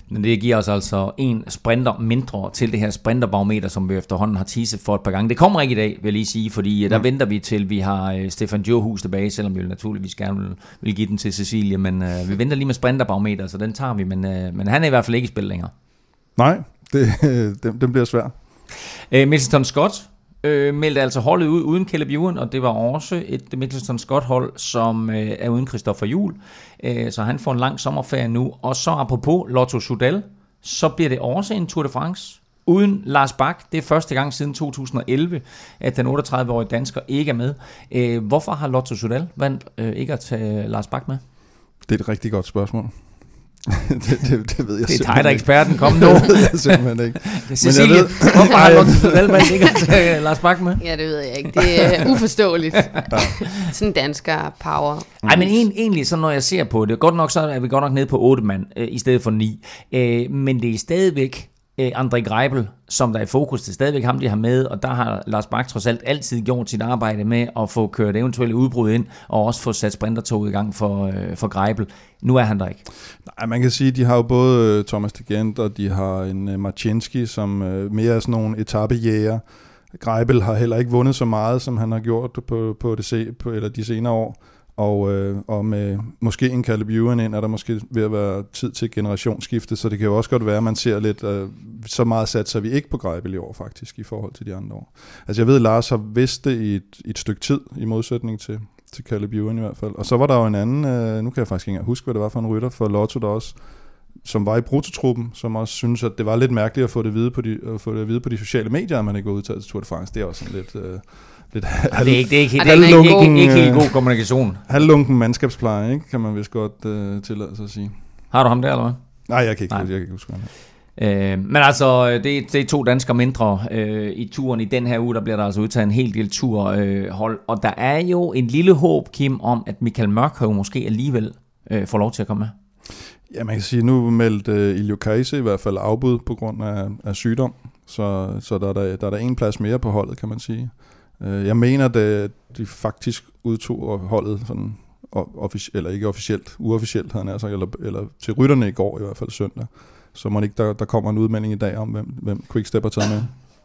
Men det giver os altså en sprinter mindre til det her sprinterbarometer, som vi efterhånden har teaset for et par gange. Det kommer ikke i dag, vil jeg lige sige, fordi der mm. venter vi til, vi har Stefan Djurhus tilbage, selvom vi naturligvis gerne vil, vil give den til Cecilie, men øh, vi venter lige med sprinterbarometer, så den tager vi, men, øh, men han er i hvert fald ikke i spil længere. Nej, det, den, den bliver svær. Øh, Mitchelton Scott øh, meldte altså holdet ud uden Caleb Ewan, og det var også et Mitchelton Scott-hold, som øh, er uden Christopher Juhl, øh, så han får en lang sommerferie nu. Og så apropos Lotto Soudal, så bliver det også en Tour de France uden Lars Bak. Det er første gang siden to tusind og elleve, at den otteogtredive-årige dansker ikke er med. Øh, hvorfor har Lotto Soudal valgt øh, ikke at tage Lars Bak med? Det er et rigtig godt spørgsmål. det, det, det ved jeg det er dig, der er eksperten. Kom nu. Det ved jeg simpelthen ikke. Cecilie, ved, hvorfor har Lotto Soudal valgt ikke at tage Lars Bak med? Ja, det ved jeg ikke. Det er uforståeligt. Ja. Sådan dansker power. Nej, men egentlig, så når jeg ser på det, godt nok så er vi godt nok nede på otte mand, øh, i stedet for ni. Øh, men det er stadigvæk øh, André Greipel, som der er i fokus. Det er stadigvæk ham, de har med, og der har Lars Bak trods alt altid gjort sit arbejde med at få kørt eventuelle udbrud ind, og også få sat sprintertoget i gang for, øh, for Greipel. Nu er han der ikke. Nej, man kan sige, at de har jo både Thomas de Gent, og de har en uh, Marcinski, som uh, mere er sådan nogle etapejæger. Greipel har heller ikke vundet så meget, som han har gjort på, på, det, på eller de senere år. Og, øh, og med måske en Caleb Ewan ind, er der måske ved at være tid til generationsskifte, så det kan jo også godt være, at man ser lidt, øh, så meget satser vi ikke på Greipel i år faktisk, i forhold til de andre år. Altså jeg ved, at Lars har vidst det i et, i et stykke tid, i modsætning til, til Caleb Ewan i hvert fald. Og så var der jo en anden, øh, nu kan jeg faktisk ikke huske, hvad det var for en rytter for Lotto der også, som var i brutotruppen, som også synes, at det var lidt mærkeligt at få det at vide på de, at få det at vide på de sociale medier, at man ikke var udtaget til Tour de France. Det er også sådan lidt... Øh, Lidt halv, det er ikke, det er ikke, det er ikke, ikke, ikke helt god kommunikation. Halvlunken mandskabspleje, ikke? Kan man vist godt uh, tillade sig at sige. Har du ham der, eller hvad? Nej, jeg kan ikke, jeg kan ikke huske ham. Øh, men altså, det, det er to danskere mindre øh, i turen i den her uge. Der bliver der altså udtaget en hel del turhold. Øh, og der er jo en lille håb, Kim, om at Michael Mørkøv måske alligevel øh, får lov til at komme med. Ja, man kan sige, nu meldte uh, Iljo Kajse i hvert fald afbud på grund af, af sygdom. Så, så der, der, der er der en plads mere på holdet, kan man sige. Jeg mener, at de faktisk udtog holdet sådan, offic- eller ikke officielt, uofficielt havde han sagt, eller, eller til rytterne i går i hvert fald søndag. Så må ikke, der, der kommer en udmelding i dag om, hvem, hvem Quickstep har taget med.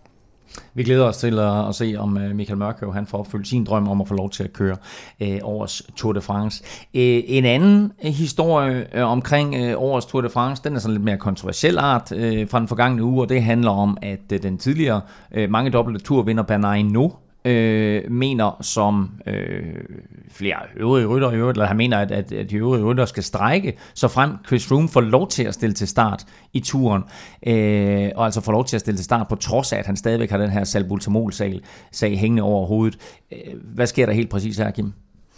Vi glæder os til at, at se, om Michael Mørkøv han får opfyldt sin drøm om at få lov til at køre øh, årets Tour de France. Øh, en anden historie øh, omkring øh, årets Tour de France, den er sådan lidt mere kontroversiel art øh, fra den forgangne uge, og det handler om, at øh, den tidligere øh, mange dobbelte turvinder Bernard Hinault Øh, mener som øh, flere øvrige rytter i øvrigt, eller han mener, at, at, at de øvrige rytter skal strejke, så frem Chris Froome får lov til at stille til start i turen, øh, og altså får lov til at stille til start, på trods af, at han stadigvæk har den her salbutamol-sag sag hængende over hovedet. Hvad sker der helt præcis her, Kim?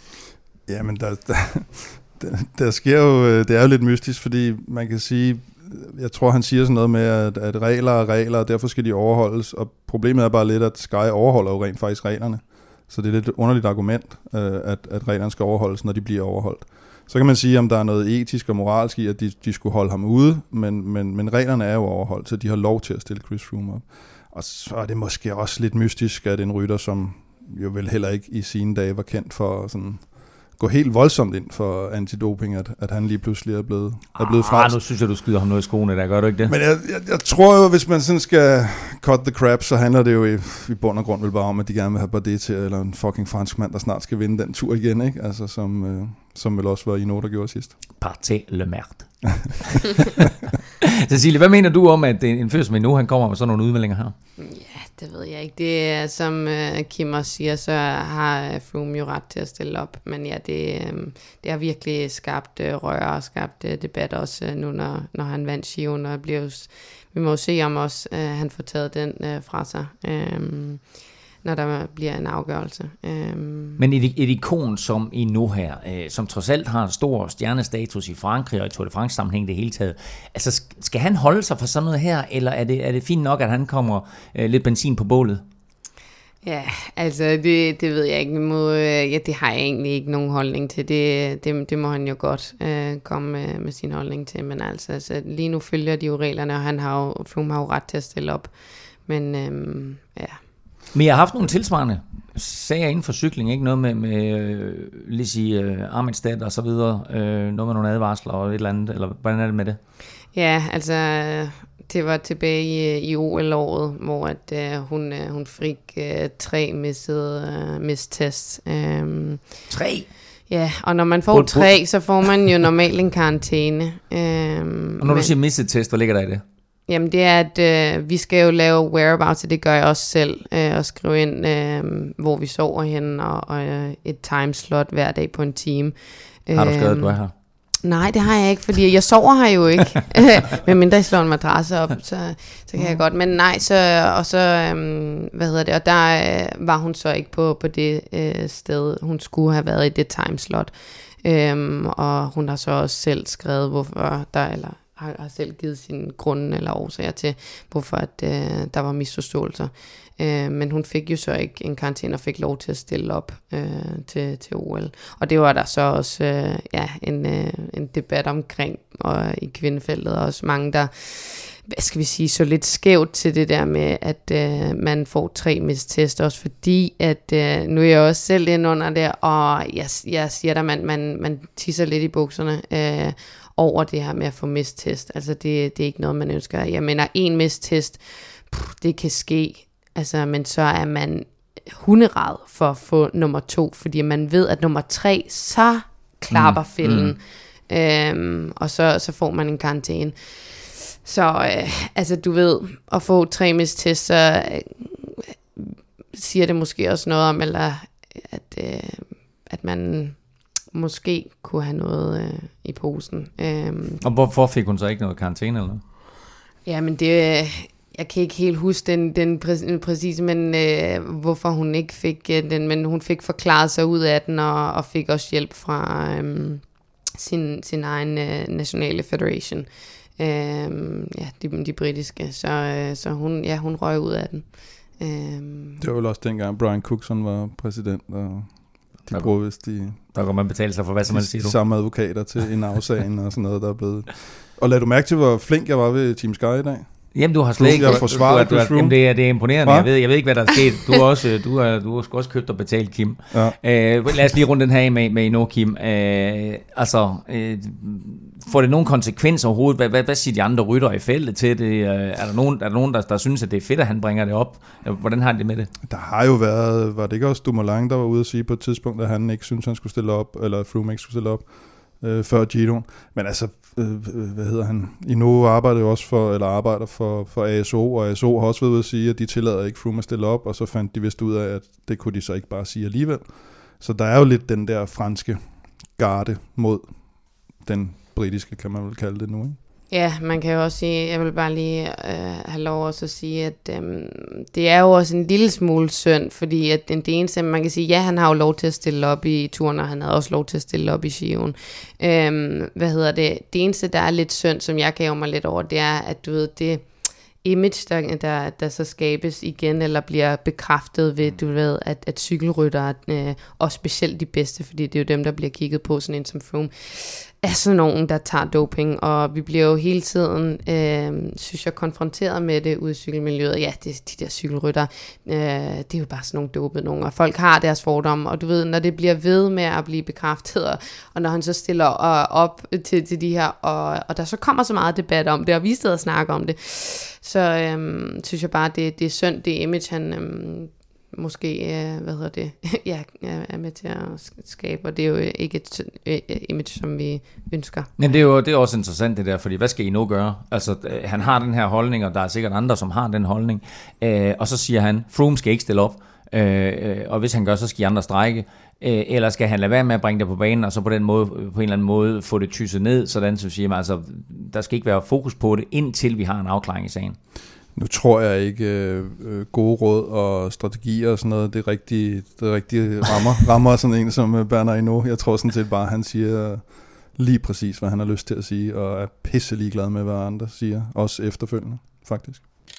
Jamen, der, der, der, der sker jo, det er jo lidt mystisk, fordi man kan sige, jeg tror, han siger sådan noget med, at, at regler er regler, og derfor skal de overholdes, og problemet er bare lidt, at Sky overholder jo rent faktisk reglerne. Så det er lidt et underligt argument, at, at reglerne skal overholdes, når de bliver overholdt. Så kan man sige, om der er noget etisk og moralsk i, at de, de skulle holde ham ude, men, men, men reglerne er jo overholdt, så de har lov til at stille Chris Froome op. Og så er det måske også lidt mystisk, at en rytter, som jo vel heller ikke i sine dage var kendt for sådan... gå helt voldsomt ind for antidoping, at, at han lige pludselig er blevet, er blevet frelst. Ah, nu synes jeg, du skyder ham noget i skoene, der gør du ikke det? Men jeg, jeg, jeg tror jo, hvis man sådan skal cut the crap, så handler det jo i, i bund og grund vel bare om, at de gerne vil have Bardet til, eller en fucking fransk mand, der snart skal vinde den tur igen, ikke? Altså, som, øh, som vel også var Hinault, der gjorde sidst. Partez le merde. Cecilie, hvad mener du om, at en fyr som Hinault, han kommer med sådan nogle udmeldinger her? Ja, det ved jeg ikke. Det er, som uh, Kim også siger, så har Froome jo ret til at stille op. Men ja, det, um, det har virkelig skabt uh, røre og skabt uh, debat også uh, nu, når, når han vandt Giroen. Og bliver jo, vi må jo se, om også uh, han får taget den uh, fra sig, um, når der bliver en afgørelse. Um. Men et, et ikon som Hinault her, øh, som trods alt har stor stjernestatus i Frankrig og i Tour de France sammenhæng det hele taget, altså skal han holde sig for sådan noget her, eller er det, er det fint nok, at han kommer øh, lidt benzin på bålet? Ja, altså det, det ved jeg ikke. Må, ja, det har jeg egentlig ikke nogen holdning til. Det, det, det må han jo godt øh, komme med, med sin holdning til. Men altså, altså lige nu følger de jo reglerne, og han har jo, Froome har jo ret til at stille op. Men øhm, ja... Men jeg har haft nogle tilsvarende sager inden for cykling, ikke? Noget med, med Lizzie uh, Armitstedt og så videre, uh, noget med nogle advarsler og et eller andet, eller hvordan er det med det? Ja, altså det var tilbage i, i O L-året, hvor at, uh, hun, uh, hun fik uh, tre missede uh, mistests. Um, tre? Ja, og når man får Bud, tre, så får man jo normalt en karantæne. Um, og når men, du siger misset test, hvad ligger der i det? Jamen det er, at øh, vi skal jo lave whereabouts, og det gør jeg også selv, øh, og skrive ind, øh, hvor vi sover henne, og, og øh, et timeslot hver dag på en time. Har du skrevet, at du er her? Nej, det har jeg ikke, fordi jeg sover her jo ikke. Men mindre jeg slår en madrasse op, så, så kan jeg godt. Men nej, så, og så, øhm, hvad hedder det, og der øh, var hun så ikke på, på det øh, sted, hun skulle have været i det timeslot. Øhm, og hun har så også selv skrevet, hvorfor der, eller har, har selv givet sine grunde eller årsager til, hvorfor at, øh, der var misforståelser. Øh, men hun fik jo så ikke en karantæne og fik lov til at stille op øh, til, til O L. Og det var der så også øh, ja, en, øh, en debat omkring og i kvindefeltet, og også mange, der hvad skal vi sige, så lidt skævt til det der med, at øh, man får tre mistest, også fordi, at øh, nu er jeg også selv inde under det, og jeg, jeg siger der, man, man, man tisser lidt i bukserne øh, over det her med at få mistest. Altså det, det er ikke noget, man ønsker. Jeg mener, en mistest, pff, det kan ske, altså, men så er man hunderad for at få nummer to, fordi man ved, at nummer tre, så klapper mm, fælden, mm. øhm, og så, så får man en karantæne. Så øh, altså du ved, at få tre mistest, så øh, siger det måske også noget om, eller at, øh, at man måske kunne have noget øh, i posen. Øhm. Og hvorfor fik hun så ikke noget karantæne eller noget? Ja, men det, jeg kan ikke helt huske den, den præ- præcise, men øh, hvorfor hun ikke fik øh, den, men hun fik forklaret sig ud af den, og, og fik også hjælp fra øh, sin, sin egen øh, nationale federation. Øh, ja, de, de britiske, så, øh, så hun, ja, hun røg ud af den. Øh. Det var vel også dengang Brian Cookson var præsident, og de bruger vist de... Der kan man betale sig for hvad som man siger du. Samme advokater til en afsagen og sådan noget, der er blevet... Og lad du mærke til, hvor flink jeg var ved Team Sky i dag? Jamen, du har slet ikke... Jeg forsvaret du, du, du, jamen, det, er, det er imponerende. Jeg ved, jeg ved ikke, hvad der er sket. Du har også, du er, du har også købt og betalt, Kim. Ja. Øh, lad os lige runde den her af med, med endnu, Kim. Øh, altså, øh, får det nogen konsekvenser overhovedet? Hvad, hvad, hvad siger de andre rytter i feltet til det? Er der nogen, er der, nogen der, der synes, at det er fedt, at han bringer det op? Hvordan har de det med det? Der har jo været... Var det ikke også Dumoulin, der var ude at sige på et tidspunkt, at han ikke synes, han skulle stille op, eller at Froome ikke skulle stille op øh, før Giroen? Men altså... hvad hedder han? Ino arbejder jo også for, eller arbejder for, for A S O, og A S O har også været ude at sige, at de tillader ikke Froome at stille op, og så fandt de vist ud af, at det kunne de så ikke bare sige alligevel. Så der er jo lidt den der franske garde mod den britiske, kan man vel kalde det nu, ikke? Ja, man kan jo også sige, jeg vil bare lige øh, have lov også at sige, at øh, det er jo også en lille smule synd, fordi at det eneste, man kan sige, ja, han har jo lov til at stille op i turen, og han havde også lov til at stille op i Giroen. Øh, hvad hedder det? Det eneste, der er lidt synd, som jeg gav mig lidt over, det er, at du ved, det image, der, der, der så skabes igen, eller bliver bekræftet ved, du ved, at, at cykelryttere, øh, og specielt de bedste, fordi det er jo dem, der bliver kigget på, sådan en som Froome, er sådan nogen, der tager doping, og vi bliver jo hele tiden, øh, synes jeg, konfronteret med det ude i cykelmiljøet. Ja, det, de der cykelryttere, øh, det er jo bare sådan nogle dopede nogen, og folk har deres fordomme, og du ved, når det bliver ved med at blive bekræftet, og, og når han så stiller op til, til de her, og, og der så kommer så meget debat om det, og vi sidder og snakker om det, så øh, synes jeg bare, det, det er synd, det image, han... Øh, måske, øh, hvad hedder det, ja, er med til at skabe, og det er jo ikke et øh, image, som vi ønsker. Men det er jo det er også interessant det der, fordi hvad skal I nu gøre? Altså, øh, han har den her holdning, og der er sikkert andre, som har den holdning, øh, og så siger han, Froome skal ikke stille op, øh, og hvis han gør, så skal I andre strejke, øh, eller skal han lade være med at bringe det på banen, og så på den måde, på en eller anden måde, få det tysset ned, sådan så siger man, altså, der skal ikke være fokus på det, indtil vi har en afklaring i sagen. Nu tror jeg ikke øh, gode råd og strategier og sådan noget, det er rigtig, det er rigtig rammer, rammer sådan en som Bernard Hinault. Jeg tror sådan set bare, han siger lige præcis, hvad han har lyst til at sige, og er pisse ligeglad med, hvad andre siger, også efterfølgende, faktisk.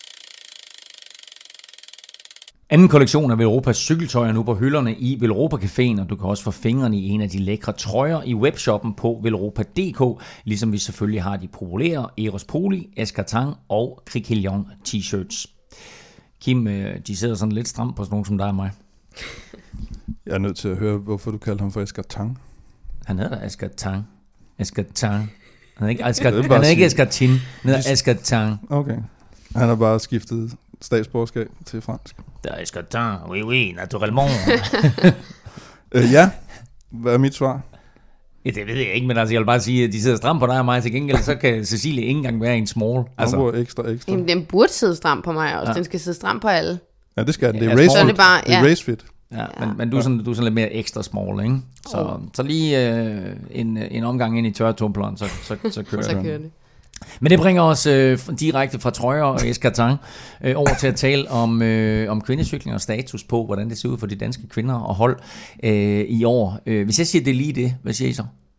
Anden kollektion af Velropas cykeltøj er nu på hylderne i Velropa Caféen, og du kan også få fingrene i en af de lækre trøjer i webshoppen på velropa punktum d k, ligesom vi selvfølgelig har de populære Eros Poli, Escartin og Criquelion t-shirts. Kim, de sidder sådan lidt stramt på sådan nogen som dig og mig. Jeg er nødt til at høre, hvorfor du kalder ham for Asger Tang. Han hedder Asger Tang. Asger Tang. Han er ikke Asger, han er ikke Asger Tin. Han hedder Asger Tang. Okay. Han har bare skiftet statsborgerskab til fransk. Det er Asger Tang. Oui, oui, naturellement. øh, ja, hvad er mit svar? Ja, det ved jeg ikke, men altså, jeg vil bare sige, at de sidder stramt på dig og mig. Til gengæld, så kan Cecilie ikke engang være en small. Altså. Ekstra, ekstra. Jamen, den burde sidde stramt på mig også. Ja. Den skal sidde stramt på alle. Ja, det skal den. Det er ja, race fit. Det, bare, ja. Det er race fit. Ja, ja. Men, men du, er sådan, du er sådan lidt mere ekstra small, ikke? Så, oh. så lige øh, en, en omgang ind i tørretumpleren, så, så, så kører så kører det. Men det bringer os øh, direkte fra trøjer og eskartang øh, over til at tale om, øh, om kvindecykling og status på, hvordan det ser ud for de danske kvinder og hold øh, i år. Øh, hvis jeg siger, det er lige det, hvad siger I så?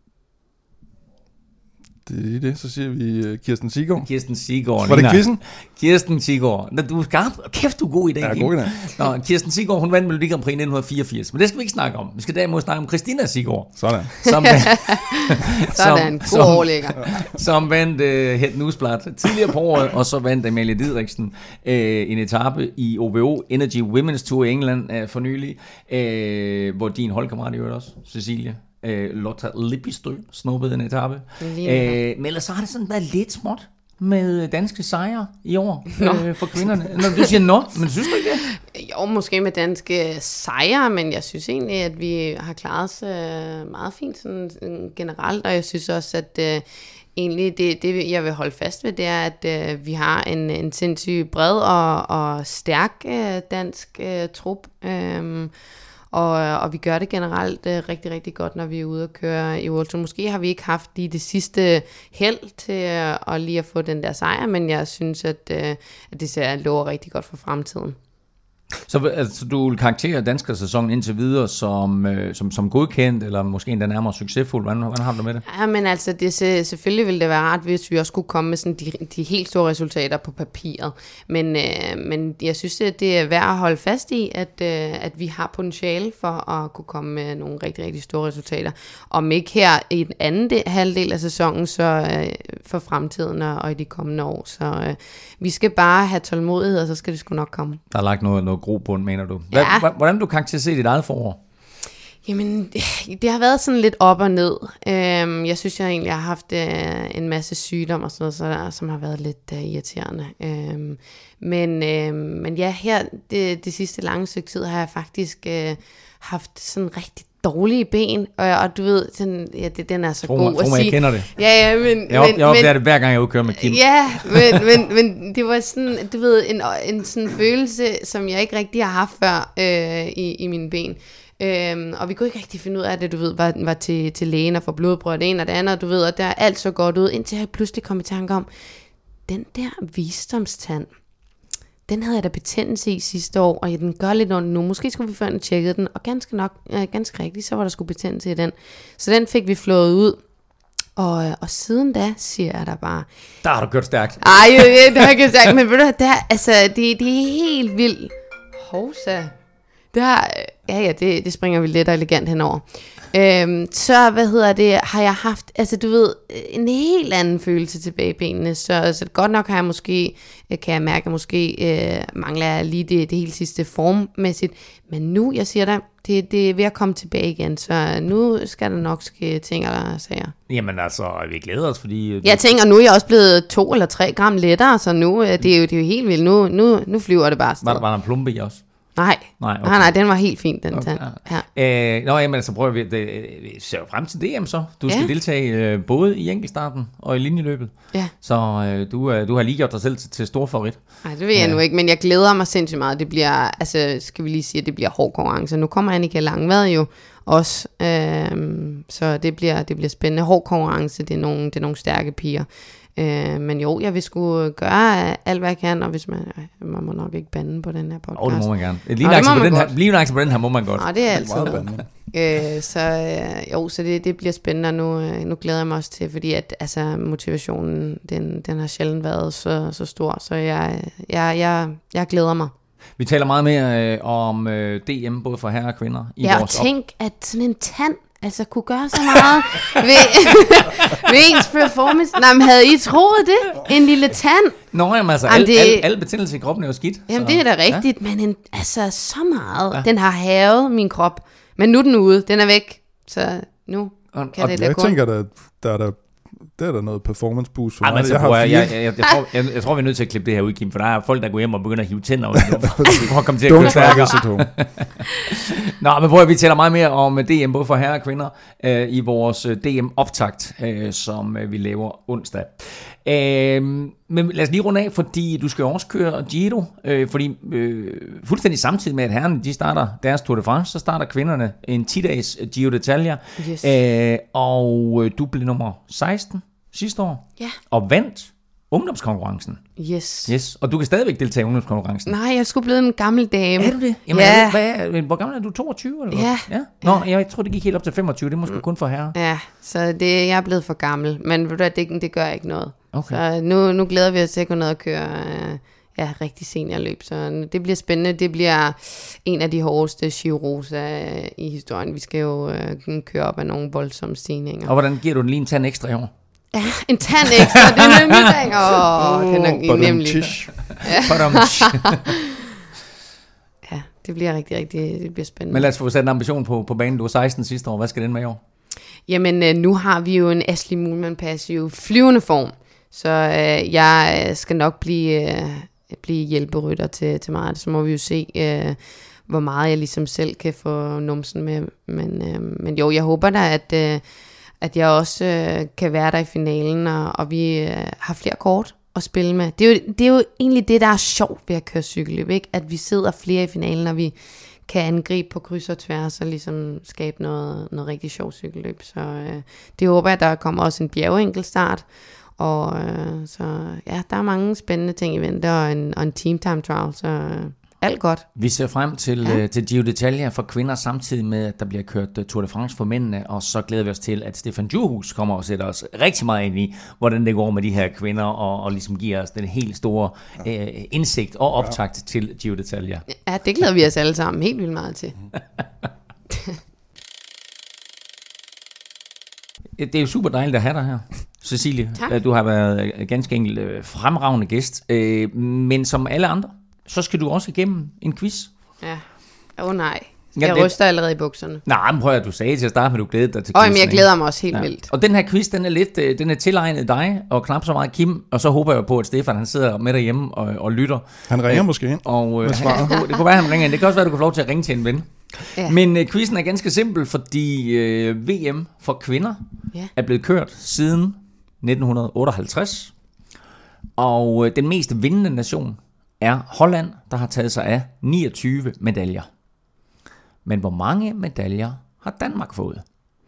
Det er det, så siger vi uh, Kirsten Siggaard. Kirsten Siggaard. Var det quizzen? Kirsten Siggaard. Du er skarp. Kæft, du er god i dag. Ja, god i dag. Nå, Kirsten Siggaard, hun vandt Melodi Grand Prix i nitten fireogfirs, men det skal vi ikke snakke om. Vi skal derimod snakke om Christina Siggaard. Sådan. Som, Sådan, god overlægger. Som vandt uh, Het Newsblad tidligere på året, og så vandt Amalie Didriksen uh, en etape i O B O Energy Women's Tour i England uh, for nylig, uh, hvor din holdkammerat i øvrigt også, Cecilie, Uh, Lotta Lippistø snuppede en etape. Uh, men ellers så har det sådan været lidt småt med danske sejre i år uh, for kvinderne. Når du siger nå, men synes du ikke det? Jo, måske med danske sejre, men jeg synes egentlig, at vi har klaret os uh, meget fint sådan, sådan generelt, og jeg synes også, at uh, egentlig det, det, jeg vil holde fast ved, det er, at uh, vi har en, en sindssygt bred og, og stærk uh, dansk uh, trup. Um, Og, og vi gør det generelt uh, rigtig, rigtig godt, når vi er ude og køre i World Tour. Måske har vi ikke haft lige det sidste held til uh, at lige at få den der sejr, men jeg synes, at, uh, at det ser lover rigtig godt for fremtiden. Så altså, du vil karaktere danskersæsonen indtil videre som, øh, som, som godkendt, eller måske endda nærmere succesfuld? Hvordan, hvordan har du med det? Ja, men altså, det, selvfølgelig ville det være rart, hvis vi også kunne komme med sådan de, de helt store resultater på papiret. Men, øh, men jeg synes, at det er værd at holde fast i, at, øh, at vi har potentiale for at kunne komme med nogle rigtig, rigtig store resultater. Om ikke her i den anden del, halvdel af sæsonen, så øh, for fremtiden og, og i de kommende år. Så øh, vi skal bare have tålmodighed, og så skal det sgu nok komme. Der er lagt noget, noget grobund, mener du? Hvad, ja. Hvordan du karakteriserer dit eget forår? Jamen, det, det har været sådan lidt op og ned. Øhm, jeg synes, jeg egentlig har haft øh, en masse sygdom og sådan noget, så, som har været lidt øh, irriterende. Øhm, men, øh, men ja, her det, det sidste lange stykke tid har jeg faktisk øh, haft sådan rigtig dårlige ben, og, og du ved, den, ja, det, den er så tro, god tro, at sige. Jeg kender det. Ja, ja, men... Jeg, op, men, jeg opdager men, det hver gang, jeg udkører med Kim. Ja, men, men, men det var sådan, du ved, en, en sådan følelse, som jeg ikke rigtig har haft før øh, i, i mine ben. Øhm, og vi kunne ikke rigtig finde ud af det, du ved, var, var til, til lægen og få blodprøver det ene og det andet, du ved, og der er alt så godt ud, indtil jeg pludselig kom i tanke om, den der visdomstand, den havde jeg da betændelse i sidste år, og den gør lidt ondt nu. Måske skulle vi før den tjekkede den, og ganske nok, øh, ganske rigtigt, så var der sgu betændelse i den. Så den fik vi flået ud, og, og siden da siger jeg der bare... Der har du kørt stærkt. Ej, det har jeg ikke stærkt, men ved du, der, altså, det, det er helt vildt. Hovsa. Det har, ja, ja, det, det springer vi lidt og elegant henover. Øhm, så, hvad hedder det, har jeg haft, altså du ved, en helt anden følelse tilbage i benene, så, så godt nok har jeg måske, kan jeg mærke, at måske øh, mangler jeg lige det, det helt sidste formmæssigt, men nu, jeg siger dig, det, det er ved at komme tilbage igen, så nu skal der nok ske ting eller sager. Jamen altså, vi glæder os, fordi... Jeg tænker, nu er jeg også blevet to eller tre gram lettere, så nu, det er jo, det er jo helt vildt, nu, nu, nu flyver det bare afsted. Var der, var der en plumpe i også? Nej, nej, okay. nej, nej, den var helt fin, den okay. tand. Ja. Øh, nå, jamen, så prøver vi, det, vi ser jo frem til D M så. Du skal ja. deltage øh, både i enkeltstarten og i linjeløbet. Ja. Så øh, du, øh, du har lige gjort dig selv til, til stor favorit. Nej, det ved jeg ja. nu ikke, men jeg glæder mig sindssygt meget. Det bliver, altså, skal vi lige sige, at det bliver hård konkurrence. Nu kommer Annika Langvad jo også, øh, så det bliver, det bliver spændende. Hård konkurrence, det er nogle, det er nogle stærke piger. Øh, men jo, jeg vil sgu gøre alt, hvad jeg kan, og hvis man, øh, man må nok ikke bande på den her podcast. Åh, oh, det må man gerne. Lige nøjagtigt på, på den her må man godt. Nå, det er altid øh, Så øh, jo, så det, det bliver spændende, og nu, øh, nu glæder jeg mig også til, fordi at altså, motivationen, den, den har sjældent været så, så stor, så jeg, jeg, jeg, jeg glæder mig. Vi taler meget mere øh, om øh, D M, både for herrer og kvinder. I ja, vores og tænk, op- at sådan en tand altså kunne gøre så meget ved, ved ens performance. Nej, men havde I troet det? En lille tand? Nå, jamen altså, Jamen, al, det- al, al betændelse i kroppen er jo skidt. Jamen så, det er da rigtigt, ja. Men en, altså så meget. Ja. Ja. Den har havet min krop. Men nu er den ude, den er væk. Så nu Og- kan og det da Jeg gå. tænker, der, der er der, der er der noget performance boost for Ej, mig. men så Jeg har prøver jeg, fire jeg, jeg, jeg, jeg, tror, jeg, jeg tror, vi er nødt til at klippe det her ud, Kim, for der er folk, der går hjem og begynder at hive tænder ud. For at komme til at køre Don't try stærkere. this at home. Nå, men prøv at vi taler meget mere om D M, både for herrer og kvinder, øh, i vores øh, D M-optakt, øh, som øh, vi laver onsdag. Øh, men lad os lige runde af, fordi du skal jo også køre Giro, øh, fordi øh, fuldstændig samtidig med, at herrerne de starter deres Tour de France, så starter kvinderne en ti-dages Giro d'Italia, Yes. øh, og øh, du blev nummer seksten sidste år, Ja. og vandt ungdomskonkurrencen. Yes. Yes, og du kan stadigvæk deltage i ungdomskonkurrencen. Nej, jeg skulle blive en gammel dame. Er du det? Jamen, Ja. hvad er, hvor gammel er du? toogtyve? Eller hvad? Ja. ja. Nå, jeg tror, det gik helt op til femogtyve. Det er måske kun for herrer. Ja, så det, jeg er blevet for gammel. Men ved du hvad, det, det gør ikke noget. Okay. Så nu, nu glæder vi os til at gå ned og køre øh, ja, rigtig seniorløb. Så det bliver spændende. Det bliver en af de hårdeste Giro-rosa øh, i historien. Vi skal jo øh, køre op af nogle voldsomme stigninger. Og hvordan giver du den lige en tand ekstra i år? Ja, en tand ekstra, det er nemlig dag. Åh, oh, den er Badum, nemlig. tish. Badum. Ja, det bliver rigtig, rigtig, det bliver spændende. Men lad os få sat en ambition på, på banen. Du var seksten sidste år. Hvad skal den med i år? Jamen, øh, nu har vi jo en Ashley Moolman passiv flyvende form, så øh, jeg skal nok blive, øh, blive hjælperytter til, til meget. Så må vi jo se, øh, hvor meget jeg ligesom selv kan få numsen med. Men, øh, men jo, jeg håber da, at, øh, at jeg også øh, kan være der i finalen, og, og vi øh, har flere kort at spille med. Det er, jo, det er jo egentlig det, der er sjovt ved at køre cykelløb, ikke? At vi sidder flere i finalen, og vi kan angribe på kryds og tværs og ligesom skabe noget, noget rigtig sjovt cykelløb. Så øh, det håber jeg, der kommer også en bjergeenkelstart. Og øh, så ja, der er mange spændende ting i vente, og en, og en team time trial, så øh, alt godt. Vi ser frem til, ja. øh, til Giro d'Italia for kvinder, samtidig med, at der bliver kørt uh, Tour de France for mændene, og så glæder vi os til, at Stefan Djurhus kommer og sætter os rigtig meget ind i, hvordan det går med de her kvinder, og, og ligesom giver os den helt store øh, indsigt og optakt ja. til Giro d'Italia. Ja, det glæder vi os alle sammen helt vildt meget til. Det er jo super dejligt at have dig her, Cecilie. Tak. Du har været ganske enkelt øh, fremragende gæst, øh, men som alle andre, så skal du også igennem en quiz. Ja, åh oh, nej. Ja, Jeg det- ryster allerede i bukserne. Nej, men prøv at du sagde til at starte med, at du glædede dig til Åh, quizzen. men jeg ikke? glæder mig også helt vildt. Og den her quiz, den er lidt, øh, den er tilegnet dig, og knap så meget Kim, og så håber jeg på, at Stefan han sidder med derhjemme og, og lytter. Han ringer måske ind. Og øh, Med svaret. han, det kunne være, at han ringer ind. Det kan også være, at du kan få lov til at ringe til en ven. Ja. Men øh, quizzen er ganske simpel, fordi øh, V M for kvinder Ja. er blevet kørt siden nitten otteoghalvtreds. Og øh, den mest vindende nation er Holland, der har taget sig af niogtyve medaljer. Men hvor mange medaljer har Danmark fået?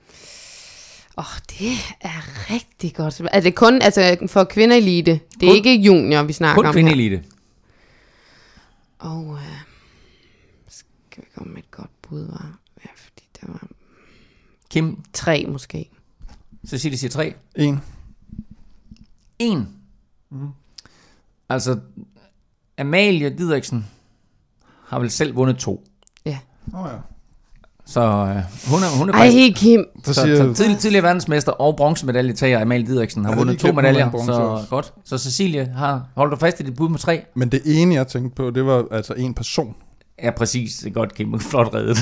Åh, oh, det er rigtig godt. Er det kun altså, for kvinderelite? Det er Kun- ikke junior, vi snakker Kun om kvindeelite. her. Og øh, skal vi komme med et godt bud, var? Ja, fordi der var Kim, tre måske. Cecilie siger tre. En. En. Mm. Altså, Amalie Didriksen har vel selv vundet to. Ja. Åh oh, ja. Så øh, hun er, hun er Ej, faktisk... Kim. Så Så, siger så jeg, tidlig, tidligere verdensmester og bronzemedalje Amalie Didriksen har Jeg havde vundet lige to glemt, hun medaljer, vandt bronze så også. godt. Så Cecilie har holdt du fast i dit bud med tre. men det ene, jeg tænkte på, det var altså en person. Ja, præcis. Det er godt, Kim. Flot reddet.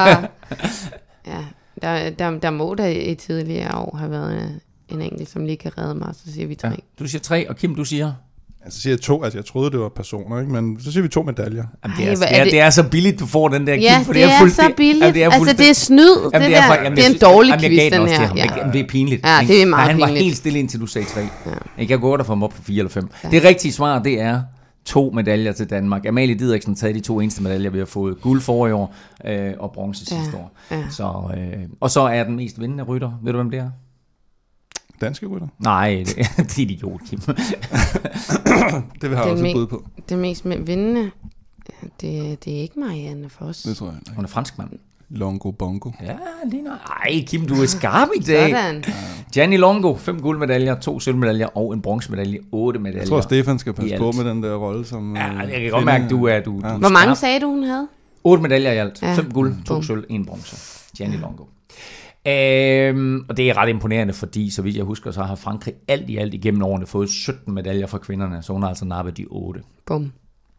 Ja, der, der, der må der i tidligere år have været øh, en enkelt, som lige kan redde mig, så siger vi tre. Ja. Du siger tre, og Kim, du siger... Altså, så siger jeg to, altså jeg troede, det var personer, ikke? Men så siger vi to medaljer. Jamen, det, Ej, er, hvor det, er er, det- det er så billigt, du får den der, Kim. Ja, for det er, fuldt- så billigt. Jamen, det er altså, fuldstændig- det er snyd. Jamen, det, det er, der. for, jamen, det er jeg en synes- dårlig jamen, jeg quiz, gav den også til her. ham. Ja. Jeg, jamen, det er pinligt. Ja, ikke? det er meget Men han var pinligt. helt stille indtil du sagde tre. Ja. Jeg kan gå der for ham op på fire eller fem. Ja. Det rigtige svar, det er to medaljer til Danmark. Amalie Didriksen taget de to eneste medaljer, vi har fået. Guld forrige år øh, og bronze Ja, sidste år. ja. Så, øh, og så er den mest vindende rytter. Ved du, hvem det er? Danske rytter. Nej, det, det er idiot, Kim. Det vil jeg Den også me- et bud på. Det mest med vindende, det, det er ikke Marianne Foss. Det tror jeg ikke. Hun er franskmand. Longo Bongo. Ja, lige nok. Ej, Kim, du er skarp i dag. Sådan. Gianni Longo, fem guldmedaljer, to sølvmedaljer og en bronzemedalje, otte medaljer. Jeg tror, Stefan skal passe I på alt. med den der rolle som... Ja, øh, jeg kan kvinde. godt mærke, at du er, du, Ja. du er Hvor mange skarp. sagde du, hun havde? Otte medaljer i alt. Ja. Fem guld, to Bum. sølv, en bronze. Gianni Longo. Øhm, og det er ret imponerende, fordi så vidt jeg husker, så har Frankrig alt i alt igennem årene fået sytten medaljer fra kvinderne, så hun har altså nappet de otte. Bum.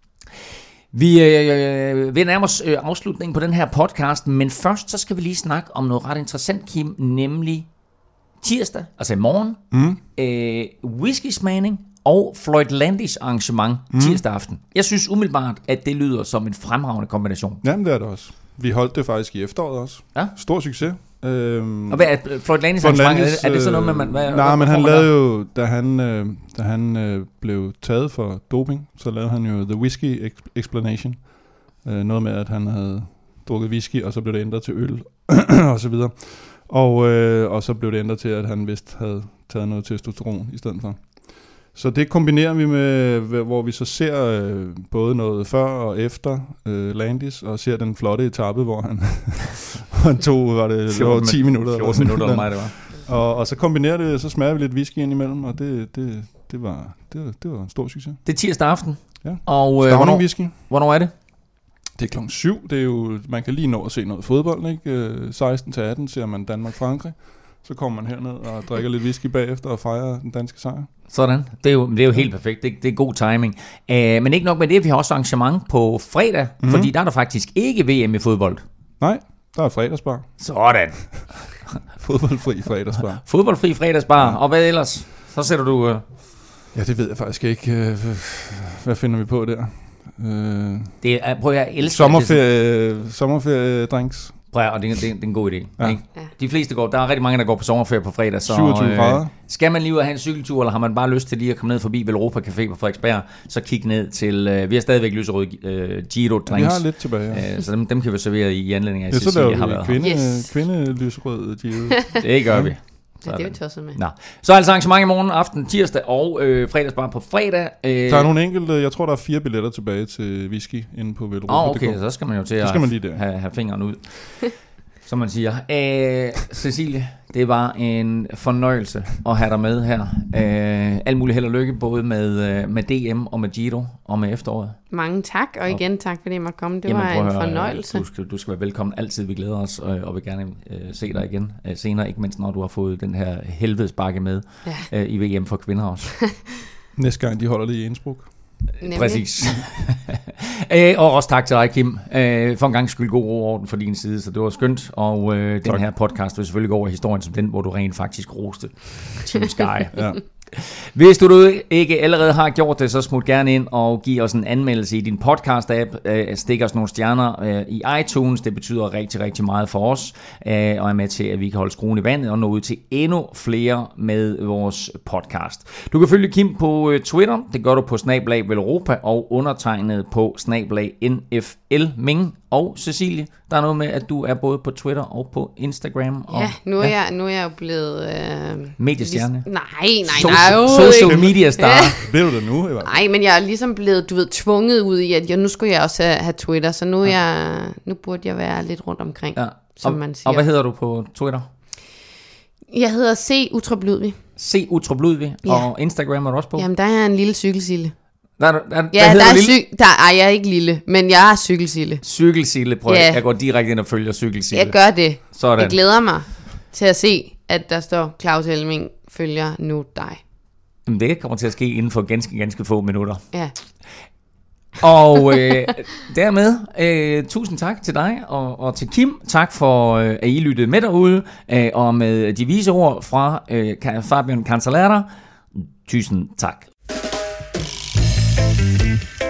Vi øh, vil nærme os øh, afslutningen på den her podcast, men først så skal vi lige snakke om noget ret interessant, Kim, nemlig tirsdag, altså i morgen, mm. øh, whisky-smagning og Floyd Landis arrangement mm. tirsdag aften. Jeg synes umiddelbart, at det lyder som en fremragende kombination. Jamen det er det også. Vi holdt det faktisk i efteråret også. Ja. Stor succes. Øhm, og hvad er Floyd Landis arrangement? Er det, er det sådan noget, man... Hvad, nej, hvad, men han man lavede jo, da han, øh, da han øh, blev taget for doping, så lavede han jo The Whiskey Explanation. Øh, noget med, at han havde drukket whisky, og så blev det ændret til øl, og så videre. Og, øh, og så blev det ændret til, at han vist havde taget noget testosteron i stedet for. Så det kombinerer vi med, hvor vi så ser øh, både noget før og efter øh, Landis, og ser den flotte etape, hvor han, han tog, var det, det var ti minutter. fjorten minutter eller mig, det var. Og, og så kombinerer det, så smager vi lidt whisky ind imellem, og det, det, det, var, det, var, det var en stor succes. Det er tirsdag aften. Ja. Og øh, hvornår, whisky. Hvornår er det? Det er klokken syv. Det er jo, man kan lige nå at se noget fodbold, ikke? seksten til atten ser man Danmark-Frankrig. Så kommer man herned og drikker lidt whisky bagefter og fejrer den danske sejr. Sådan. Det er jo, det er jo helt perfekt. Det, det er god timing. Uh, men ikke nok med det, vi har også arrangement på fredag, mm-hmm. fordi der er der faktisk ikke V M i fodbold. Nej, der er fredagsbar. Sådan. Fodboldfri fredagsbar. Fodboldfri fredagsbar. Ja. Og hvad ellers? Så sætter du... Uh... Ja, det ved jeg faktisk ikke. Hvad finder vi på der? Uh... Det er, prøv at jeg elsker Sommerferie, sommerferie drinks. Prøv at, og det, det, det er en god idé. Ja. Ikke? Ja. De fleste går, der er rigtig mange, der går på sommerferie på fredag. Så, syvogtyve grader. Øh, skal man lige ud og have en cykeltur, eller har man bare lyst til lige at komme ned forbi Velropa Café på Frederiksberg, så kig ned til, øh, vi har stadigvæk lyserøde øh, Giro drinks. Ja, vi har lidt tilbage. Ja. Øh, så dem, dem kan vi servere i anledning af, ja, Cecilie har været. Kvinde, yes. kvinde lyserøde Giro. Det gør vi. Ja, det er vi tosset med. Nå. Så er altså arrangement i morgen aften, tirsdag og øh, fredagsbar på fredag. Øh, der er nogle enkelte, jeg tror der er fire billetter tilbage til whisky inde på Velropa. Åh, oh, okay, så skal man jo til at have, have fingeren ud. Som man siger. Æh, Cecilie, det var en fornøjelse at have dig med her. Æh, alt muligt held og lykke, både med, med D M og med Giro og med efteråret. Mange tak, og igen tak, fordi jeg måtte komme. Det Jamen, var en høre, fornøjelse. Du skal, du skal være velkommen altid. Vi glæder os, og, og vil gerne øh, se dig igen øh, senere. Ikke mindst, når du har fået den her helvedesbakke med ja. øh, i V M for kvinder også. Næste gang, de holder det i Innsbruck. Nemlig. Præcis. Æ, og også tak til dig, Kim. Æ, for en gang skyld god ro orden for din side, så det var skønt. Og øh, den her podcast vil selvfølgelig gå over i historien som den, hvor du rent faktisk roste Team Sky. Ja. Hvis du ikke allerede har gjort det, så smut gerne ind og giv os en anmeldelse i din podcast-app. Stik os nogle stjerner i iTunes. Det betyder rigtig, rigtig meget for os. Og er med til, at vi kan holde skruen i vandet og nå ud til endnu flere med vores podcast. Du kan følge Kim på Twitter. Det gør du på snabel-a Velropa og undertegnet på snabel-a N F L Ming. Og Cecilie, der er noget med, at du er både på Twitter og på Instagram. Og, ja, nu er, ja. Jeg, nu er jeg jo blevet... Øh, mediestjerne. Lig- nej, nej, social, nej. Social media star. Ja. Bliver du det nu? Nej, men jeg er ligesom blevet, du ved, tvunget ud i, at jeg, nu skulle jeg også have, have Twitter, så nu, ja. jeg, nu burde jeg være lidt rundt omkring, ja. som og, man siger. Og hvad hedder du på Twitter? Jeg hedder C. Utrup Ludvig. C. Utrup Ludvig. Ja. Og Instagram er du også på? Jamen, der er en lille cykelsille. Der, der, der, ja, der er cyk- der, ej, jeg er ikke lille, men jeg er cykelsille. Cykelsille, prøv ja. Jeg går direkte ind og følger cykelsille. Jeg gør det. Sådan. Jeg glæder mig til at se, at der står Claus Elming følger nu dig. Jamen, det kommer til at ske inden for ganske, ganske få minutter. Ja. Og øh, dermed, øh, tusind tak til dig og, og til Kim. Tak for, øh, at I lyttede med derude. Øh, og med de vise ord fra øh, Fabian Cancellara. Tusind tak.